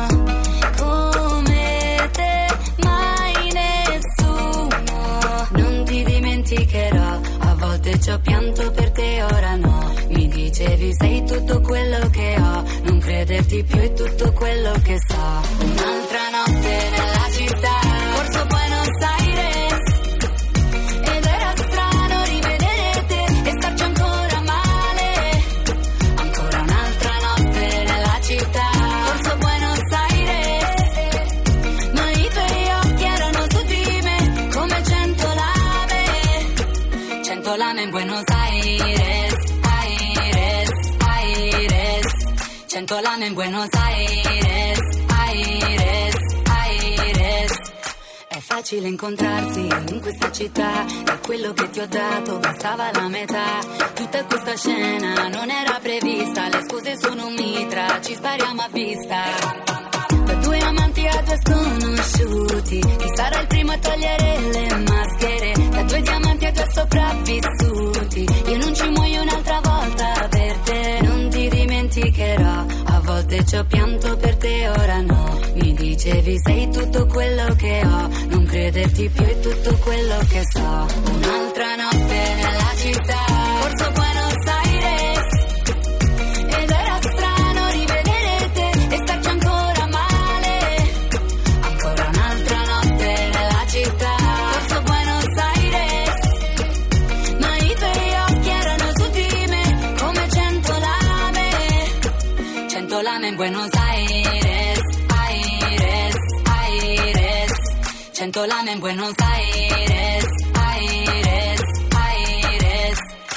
come te mai nessuno. Non ti dimenticherò, a volte ci ho pianto per te, ora no. Mi dicevi sei tutto quello che ho, non crederti più è tutto quello che so. Un'altra notte nella città, corso Buenos Aires, ed era strano rivedere te e starci ancora male. Ancora un'altra notte nella città, corso Buenos Aires, ma i tuoi occhi erano su di me come 100 lame. 100 lame in Buenos Aires, Aires, Aires. 100 lame in Buenos Aires, Aires, Aires. È facile incontrarsi in questa città, e quello che ti ho dato bastava la metà. Tutta questa scena non era prevista, le scuse sono un mitra, ci spariamo a vista. Da due amanti a due sconosciuti, chi sarà il primo a togliere le maschere? Da due diamanti a due sopravvissuti, io non ci muoio un'altra volta per te. Non ti dimenticherò, a volte ci ho pianto per te, ora no. Mi dicevi sei tutto quello che ho, non crederti più è tutto quello che so. Un'altra notte nella città, corso Buenos Aires, ed era strano rivedere te e starci ancora male. Ancora un'altra notte nella città, corso Buenos Aires, ma i tuoi occhi erano su di me come 100 lame. 100 lame in Buenos Aires, Aires, Aires. 100 lame in Buenos Aires, Aires, Aires.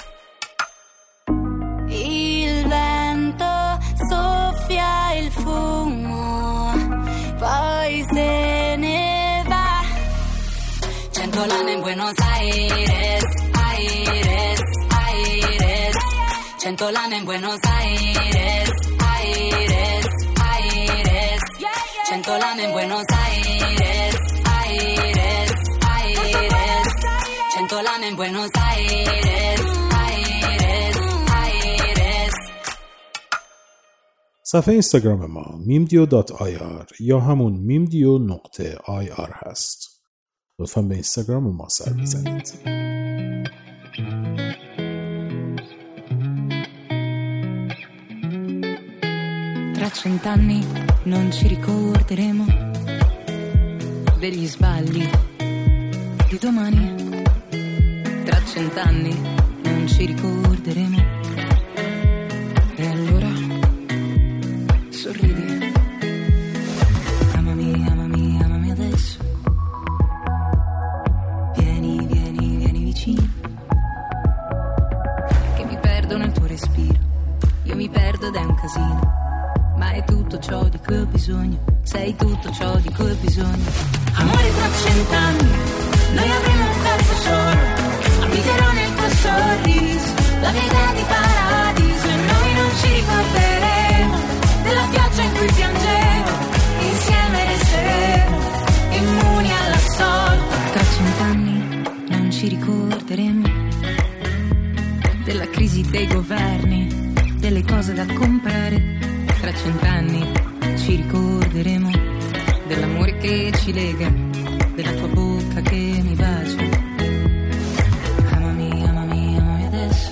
Il vento soffia il fumo, poi se ne va. 100 lame in Buenos Aires, Aires, Aires. 100 lame in Buenos Aires, Aires, Aires. 100 lame in Buenos Aires, Aires, Aires. 100 lame in Buenos Aires, Aires, Aires. صفحه اینستاگرام ما mimdio.ir یا همون mimdio.ir هست. لطفاً به اینستاگرام ما سر بزنید. Tra 100 anni non ci ricorderemo degli sbagli di domani. 100 anni non ci ricorderemo. E allora sorridi. Amami, amami, amami adesso. Vieni, vieni, vieni vicino. Che mi perdo nel tuo respiro. Io mi perdo ed è un casino. Ma è tutto ciò di cui ho bisogno. Sei tutto ciò di cui ho bisogno. Amore, tra 100 anni noi avremo un corpo solo. Abiterò nel tuo sorriso la mia idea di paradiso. E noi non ci ricorderemo della pioggia in cui piangevo. Insieme resteremo immuni alla sorte. Tra 100 anni non ci ricorderemo della crisi dei governi, delle cose da comprare. Tra 100 anni ci ricorderemo dell'amore che ci lega, della tua bocca che mi bacia. Amami, amami, amami adesso.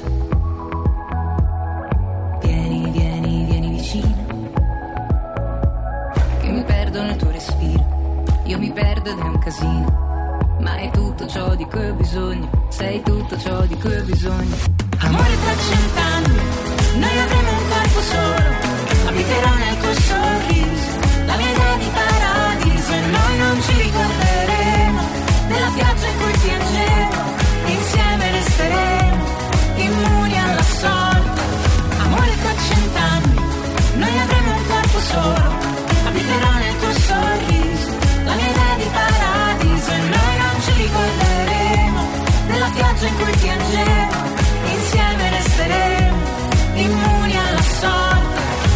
Vieni, vieni, vieni vicino. Che mi perdo nel tuo respiro. Io mi perdo ed è un casino. Ma è tutto ciò di cui ho bisogno. Sei tutto ciò di cui ho bisogno. Amore, tra 100 anni noi avremo un corpo solo. Abiterò nel tuo sorriso la mia idea di paradiso. E noi non ci ricorderemo della pioggia in cui piangevo. Insieme resteremo immuni alla sorte. Amore, tra 100 anni noi avremo un corpo solo. Abiterò nel tuo sorriso la mia idea di paradiso. E noi non ci ricorderemo della pioggia in cui piangevo. Insieme resteremo immuni alla sorte.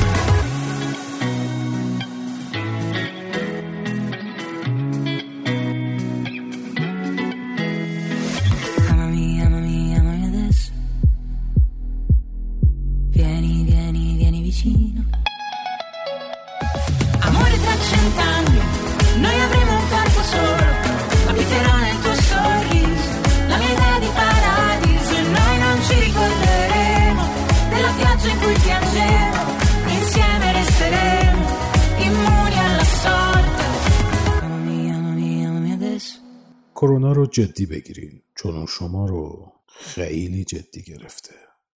Amore, tra 100 anni noi avremo un corpo solo. Abiterò nel tuo sorriso la mia idea di paradiso. E noi non ci ricorderemo della pioggia in cui piangevo. Insieme resteremo immuni alla sorte. Amami, amami, amami adesso. کرونا رو جدی بگیرین چون شما رو خیلی جدی گرفته.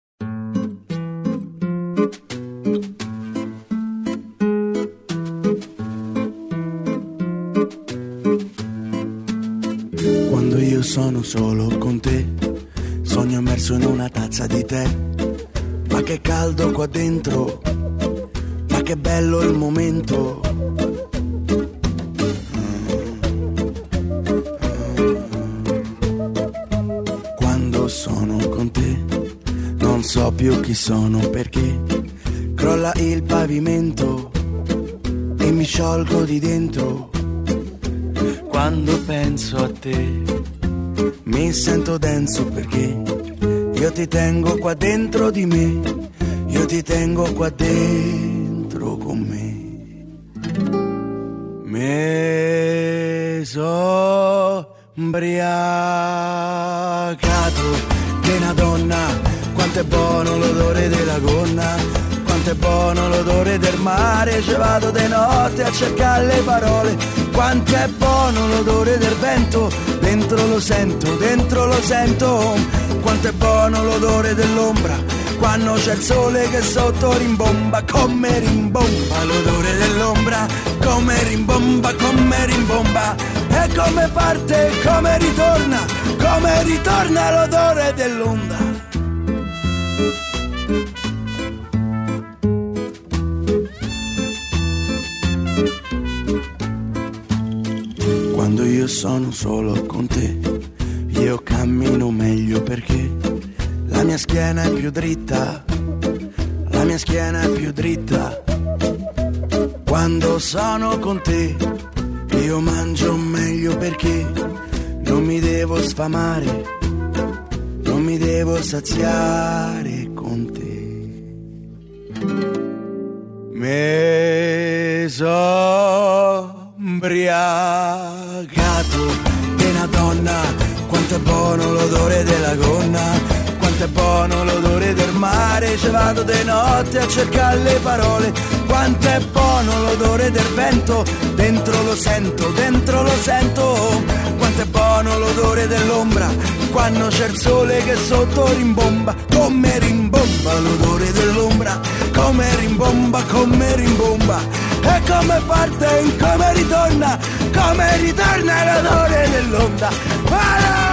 Quando io sono solo con te, sogno immerso in una tazza di tè. Ma che caldo qua dentro, ma che bello il momento. Quando sono con te, non so più chi sono perché crolla il pavimento e mi sciolgo di dentro. Quando penso a te mi sento denso perché io ti tengo qua dentro di me, io ti tengo qua dentro con me. Mi so ubriacato di una donna, quanto è buono l'odore della gonna, quanto è buono l'odore del mare, ci vado di notte a cercare le parole, quanto è buono l'odore del vento, dentro lo sento, quanto è buono l'odore dell'ombra, quando c'è il sole che sotto rimbomba, come rimbomba l'odore dell'ombra, come rimbomba, e come parte, come ritorna l'odore dell'onda. Quando io sono solo con te, io cammino meglio perché la mia schiena è più dritta, la mia schiena è più dritta. Quando sono con te, io mangio meglio perché non mi devo sfamare, non mi devo saziare con te. Mi so ubriacato di una donna, quanto è buono l'odore della gonna, quanto è buono l'odore del mare, ci vado di notte a cercare le parole, Quanto è buono l'odore del vento, dentro lo sento, dentro lo sento. Quanto è buono l'odore dell'ombra, quando c'è il sole che sotto rimbomba. Come rimbomba l'odore dell'ombra, come rimbomba, come rimbomba. E come parte, come ritorna l'odore dell'onda. Voilà!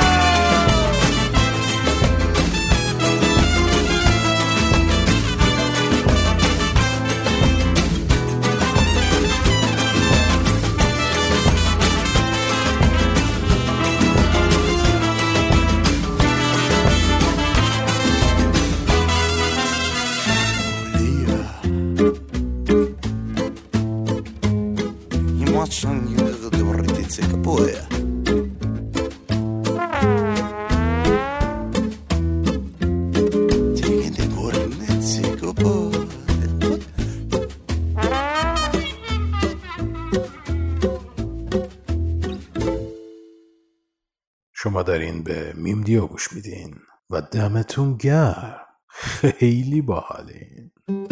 شما دارین به میم دیو گوش میدین و دمتون گرم، خیلی باحالین.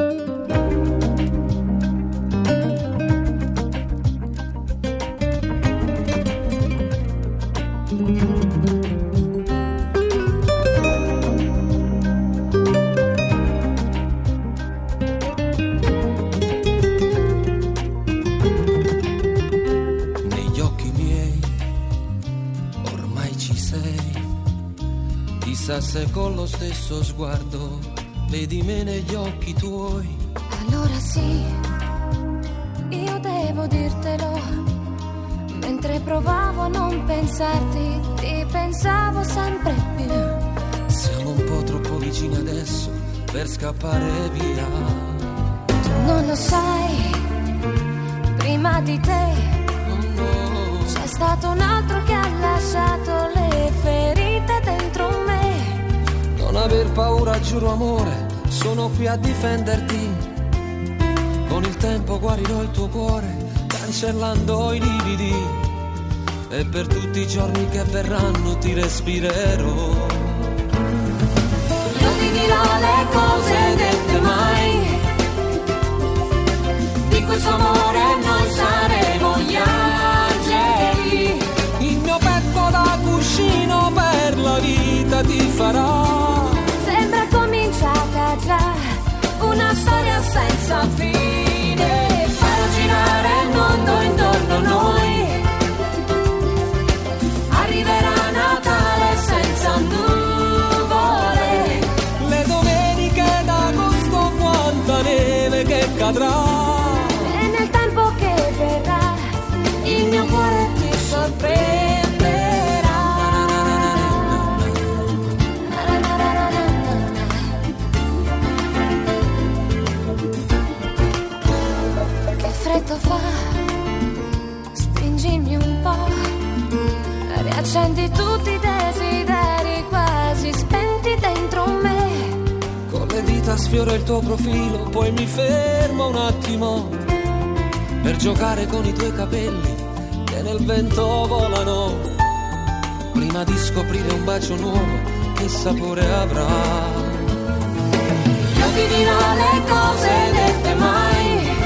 Chissà se con lo stesso sguardo vedi me negli occhi tuoi. Allora sì, io devo dirtelo. Mentre provavo a non pensarti, ti pensavo sempre più. Siamo un po' troppo vicini adesso per scappare via. Tu non lo sai, prima di te c'è stato un altro che ha lasciato le ferite dentro me. Non aver paura, giuro amore, sono qui a difenderti. Con il tempo guarirò il tuo cuore, cancellando i lividi. E per tutti i giorni che verranno ti respirerò. Io ti dirò le cose dette mai. Di questo amore noi saremo gli angeli. Il mio petto da cuscino per la vita ti farà. Sembra cominciata già una storia senza fine. Farò girare il mondo intorno a noi. Arriverà Natale senza nuvole. Le domeniche d'agosto, quanta neve che cadrà. E nel tempo che verrà il mio cuore ti sorprenderà. Freddo fa, stringimi un po', riaccendi tutti i desideri quasi spenti dentro me. Con le dita sfioro il tuo profilo, poi mi fermo un attimo per giocare con i tuoi capelli che nel vento volano. Prima di scoprire un bacio nuovo, che sapore avrà. Io ti dirò le cose dette mai.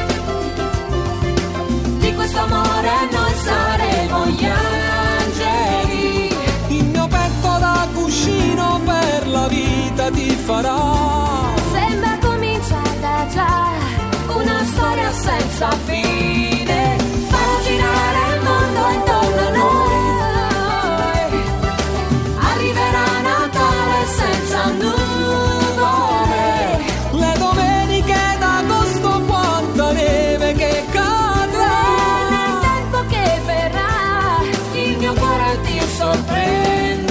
Di questo amore noi saremo gli angeli. Il mio petto da cuscino per la vita ti farà. Sembra cominciata già una storia senza fine. Farò girare il mondo intorno a noi. Arriverà Natale senza nuvole. Le domeniche d'agosto, quanta neve che cadrà. Nel tempo che verrà il mio cuore ti sorprenderà.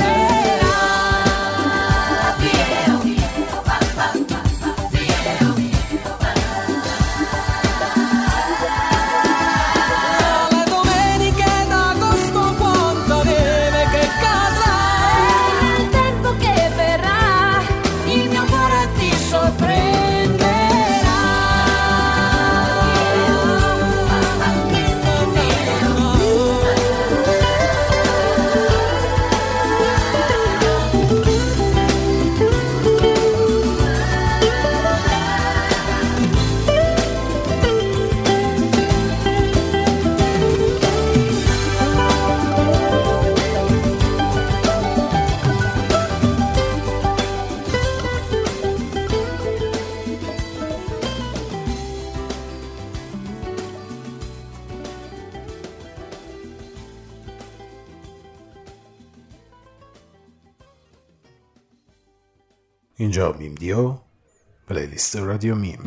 اینجا میم دیو، پلیلیست رادیو میم.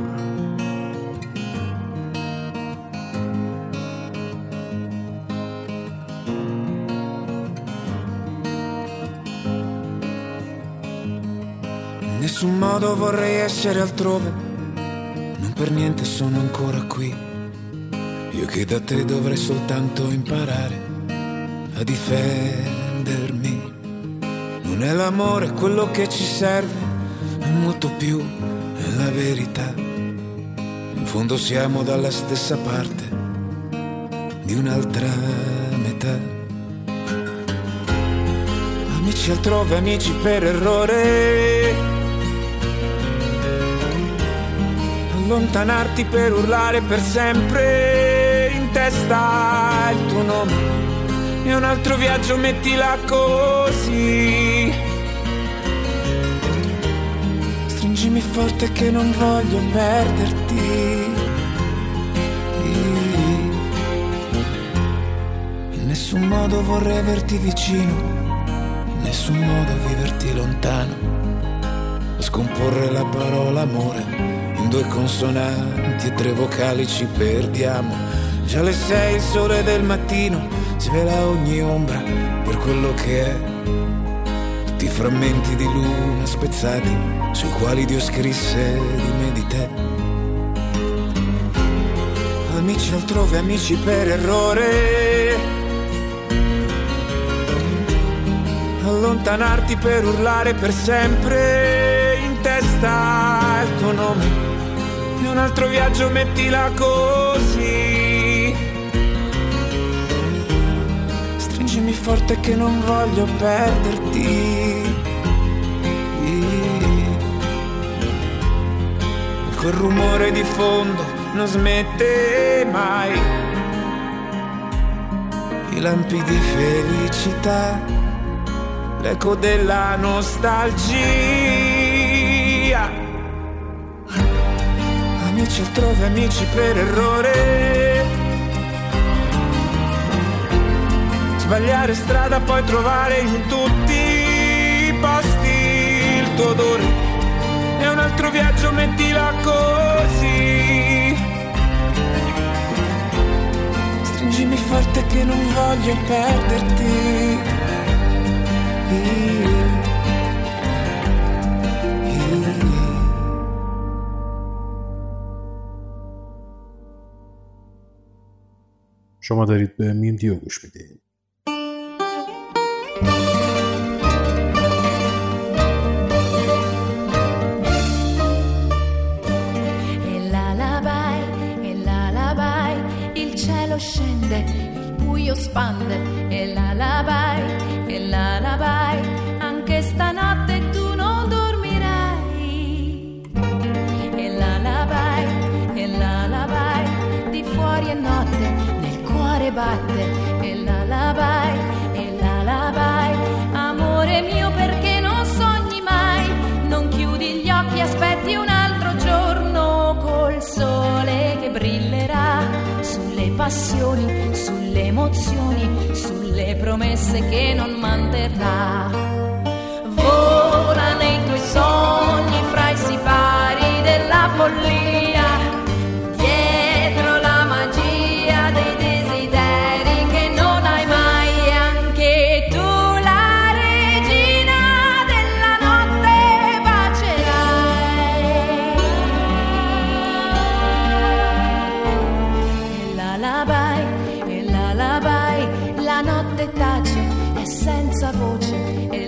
In nessun modo vorrei essere altrove, non per niente sono ancora qui. Io che da te dovrei soltanto imparare a difendermi. Non è l'amore quello che ci serve, è molto più, è la verità. In fondo siamo dalla stessa parte di un'altra metà. Amici altrove, amici per errore, allontanarti per urlare per sempre in testa il tuo nome. E un altro viaggio mettila così. Stringimi forte che non voglio perderti. In nessun modo vorrei averti vicino, in nessun modo viverti lontano. A scomporre la parola amore in 2 consonanti e 3 vocali ci perdiamo. Già le 6 il sole del mattino svela ogni ombra per quello che è. Tutti i frammenti di luna spezzati sui quali Dio scrisse di me, di te. Amici altrove, amici per errore, allontanarti per urlare per sempre in testa il tuo nome. E un altro viaggio mettila così. Stringimi forte che non voglio perderti. E quel rumore di fondo non smette mai. I lampi di felicità, l'eco della nostalgia. Amici altrove, amici per errore, sbagliare strada poi trovare in tutti i posti il tuo odore. E un altro viaggio mettila così. Stringimi forte che non voglio perderti. شما دارید به میم دیو گوش میدید. Scende, il buio spande e l'alabai, anche stanotte tu non dormirai. E l'alabai, di fuori è notte, nel cuore batte. E l'alabai, amore mio perché non sogni mai, non chiudi gli occhi, aspetti un altro giorno col sole che brillerà sulle passioni, sulle emozioni, sulle promesse che non manterrà. Vola nei tuoi sogni fra i sipari della follia, dietro la magia dei desideri che non hai mai. Anche tu la regina della notte bacerai. E l'alabai, la notte tace, è senza voce. E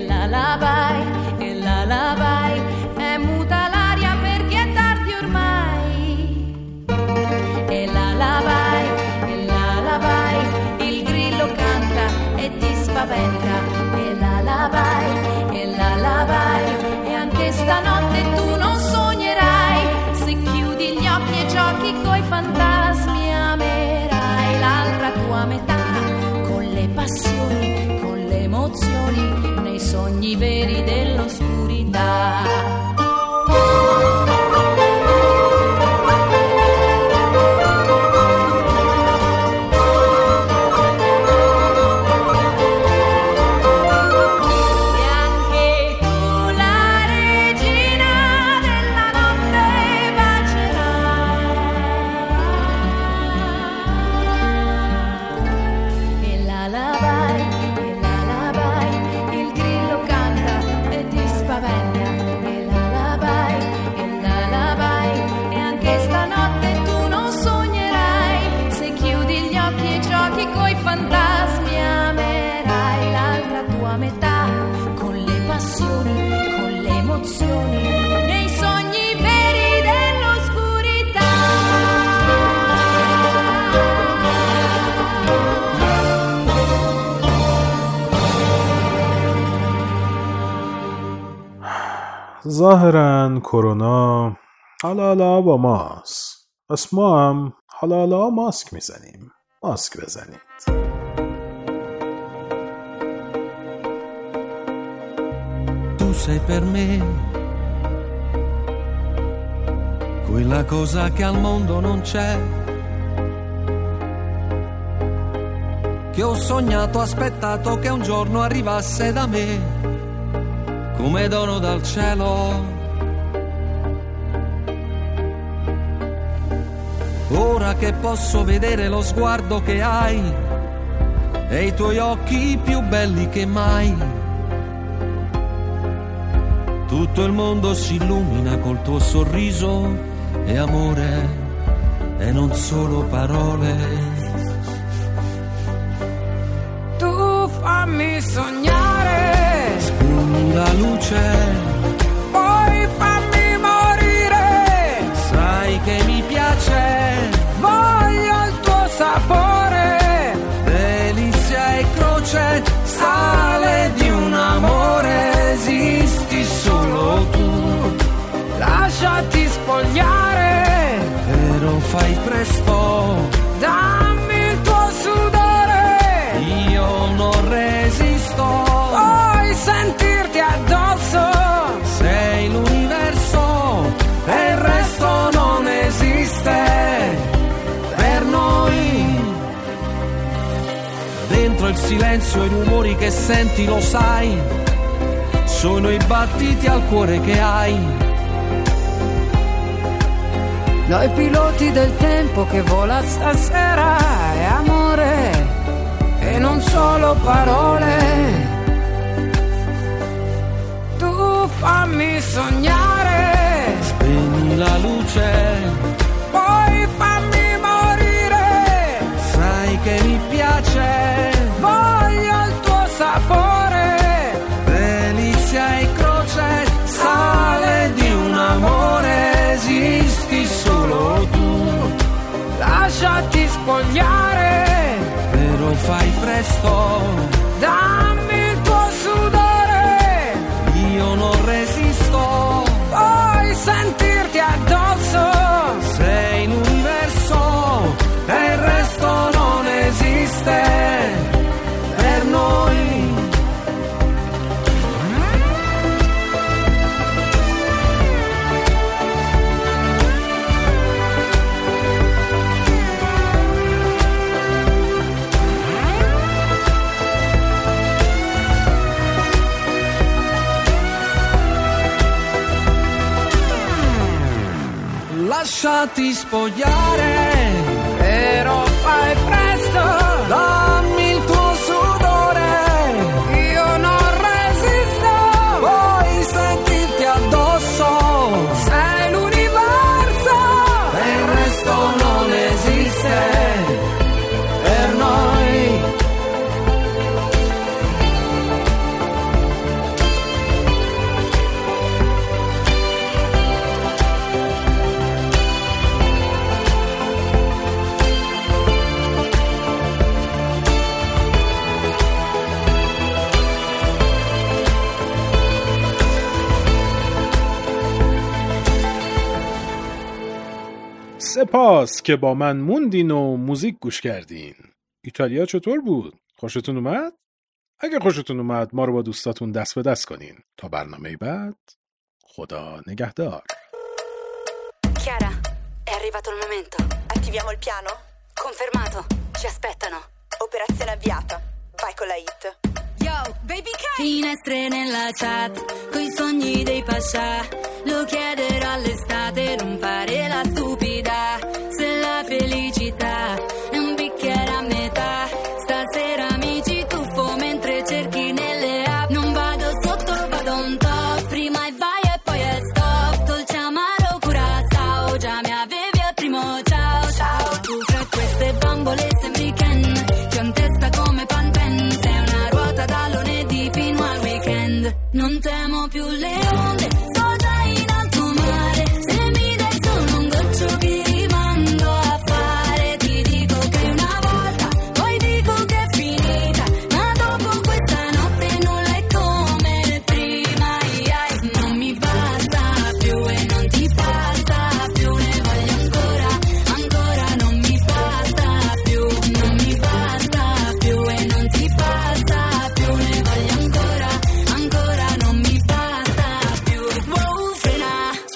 l'alabai, è muta l'aria perché è tardi ormai. E l'alabai, il grillo canta e ti spaventa. E l'alabai, e anche stanotte tu non sognerai. Se chiudi gli occhi e giochi coi fantasmi amerai l'altra tua metà, con le passioni, con le emozioni, nei sogni veri dell'oscurità. E anche tu la regina emozioni, nei sogni veri dell'oscurità. ظاهراً کرونا حالا با ماست. پس ما هم حالا ماسک میزنیم. ماسک بزنید. Tu sei per me quella cosa che al mondo non c'è, che ho sognato, aspettato che un giorno arrivasse da me come dono dal cielo. Ora che posso vedere lo sguardo che hai e i tuoi occhi più belli che mai, tutto il mondo si illumina col tuo sorriso e amore e non solo parole. Tu fammi sognare, Spegni la luce, poi fammi morire. sai che mi piace, Voglio il tuo sapore, delizia e croce, sale di un amore, esisti solo tu. lasciati spogliare, Però fai presto, dammi il tuo sudore, io non resisto. vuoi sentirti addosso, Sei l'universo e il resto non esiste per noi. Dentro il silenzio i rumori che senti, lo sai, sono i battiti al cuore che hai. noi piloti del tempo che vola stasera, è amore e non solo parole. Tu fammi sognare, Spegni la luce, poi fammi morire, sai che mi piace, voglio il tuo sapore, delizia e croce, sale di un amore, esisti solo tu. lasciati spogliare, Però fai presto, dammi il tuo sudore, io non resisto. vuoi sentirti addosso, Sei l'universo e il resto non esiste per noi. Lasciati spogliare, però fai presto, dammi il tuo sudore, io non resisto, vuoi sentirti addosso, sei l'universo, e il resto non esiste per noi. سپاس که با من موندین و موزیک گوش کردین. ایتالیا چطور بود؟ خوشتون اومد؟ اگه خوشتون اومد ما رو با دوستاتون دست به دست کنین. تا برنامه بعد، خدا نگهدار. Chiara, è arrivato il momento. Attiviamo il piano? Confermato, ci aspettano. Operazione avviata. Vai con la hit. Yo, baby K! Finestre nella chat, coi sogni dei pascià. Lo chiederò all'estate, non fare la stupida. Se la felicità è un bicchiere a metà, stasera mi ci tuffo mentre cerchi nelle app. Non vado sotto, vado on top, prima e vai e poi è stop. Dolce amaro Curaçao, già mi avevi al primo ciao. Ciao, tu fra queste bambole sembri Ken, ti ho in testa come Panten. Sei una ruota da lunedì fino al weekend. Non temo più le onde,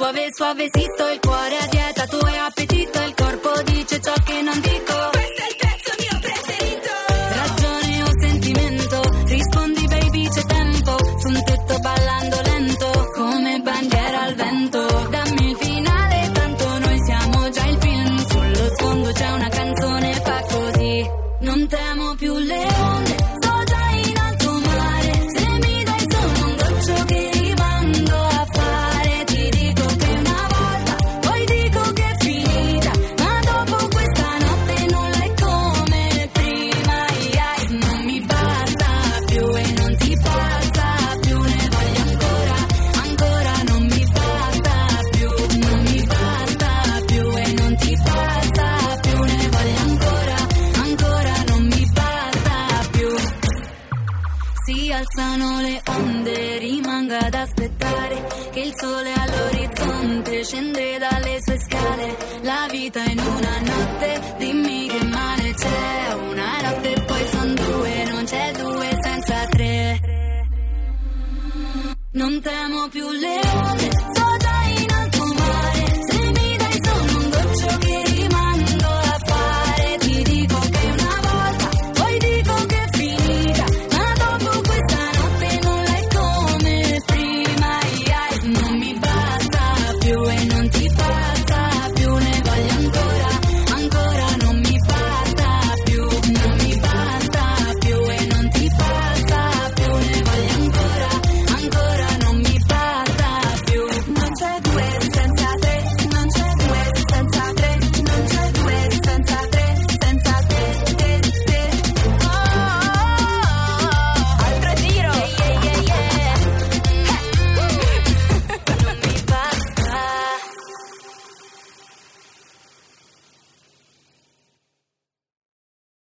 Suave, suavecito, il cuore a dieta, tu hai appetito, il corpo dice ciò che non dico. Questo è il pezzo mio preferito. Ragione o sentimento, rispondi baby c'è tempo, su un tetto ballando lento, come bandiera al vento. Dammi il finale, tanto noi siamo già il film, sullo sfondo c'è una canzone, fa così. Non temo più le onde, sto già in alto mare, se mi dai solo un goccio che rimando a fare, ti dico che una volta, poi dico che è finita, ma dopo questa notte nulla è come prima, non mi basta più e non ti passa più, ne voglio ancora, ancora, non mi basta più, non mi basta più e non ti passa più, ne voglio ancora, ancora, non mi basta più. Si alzano le onde, rimanga ad aspettare che il sole all'orizzonte scende dalle sue scale. La vita in una notte, dimmi che male c'è, una notte e poi son due, non c'è due senza tre. Non temo più le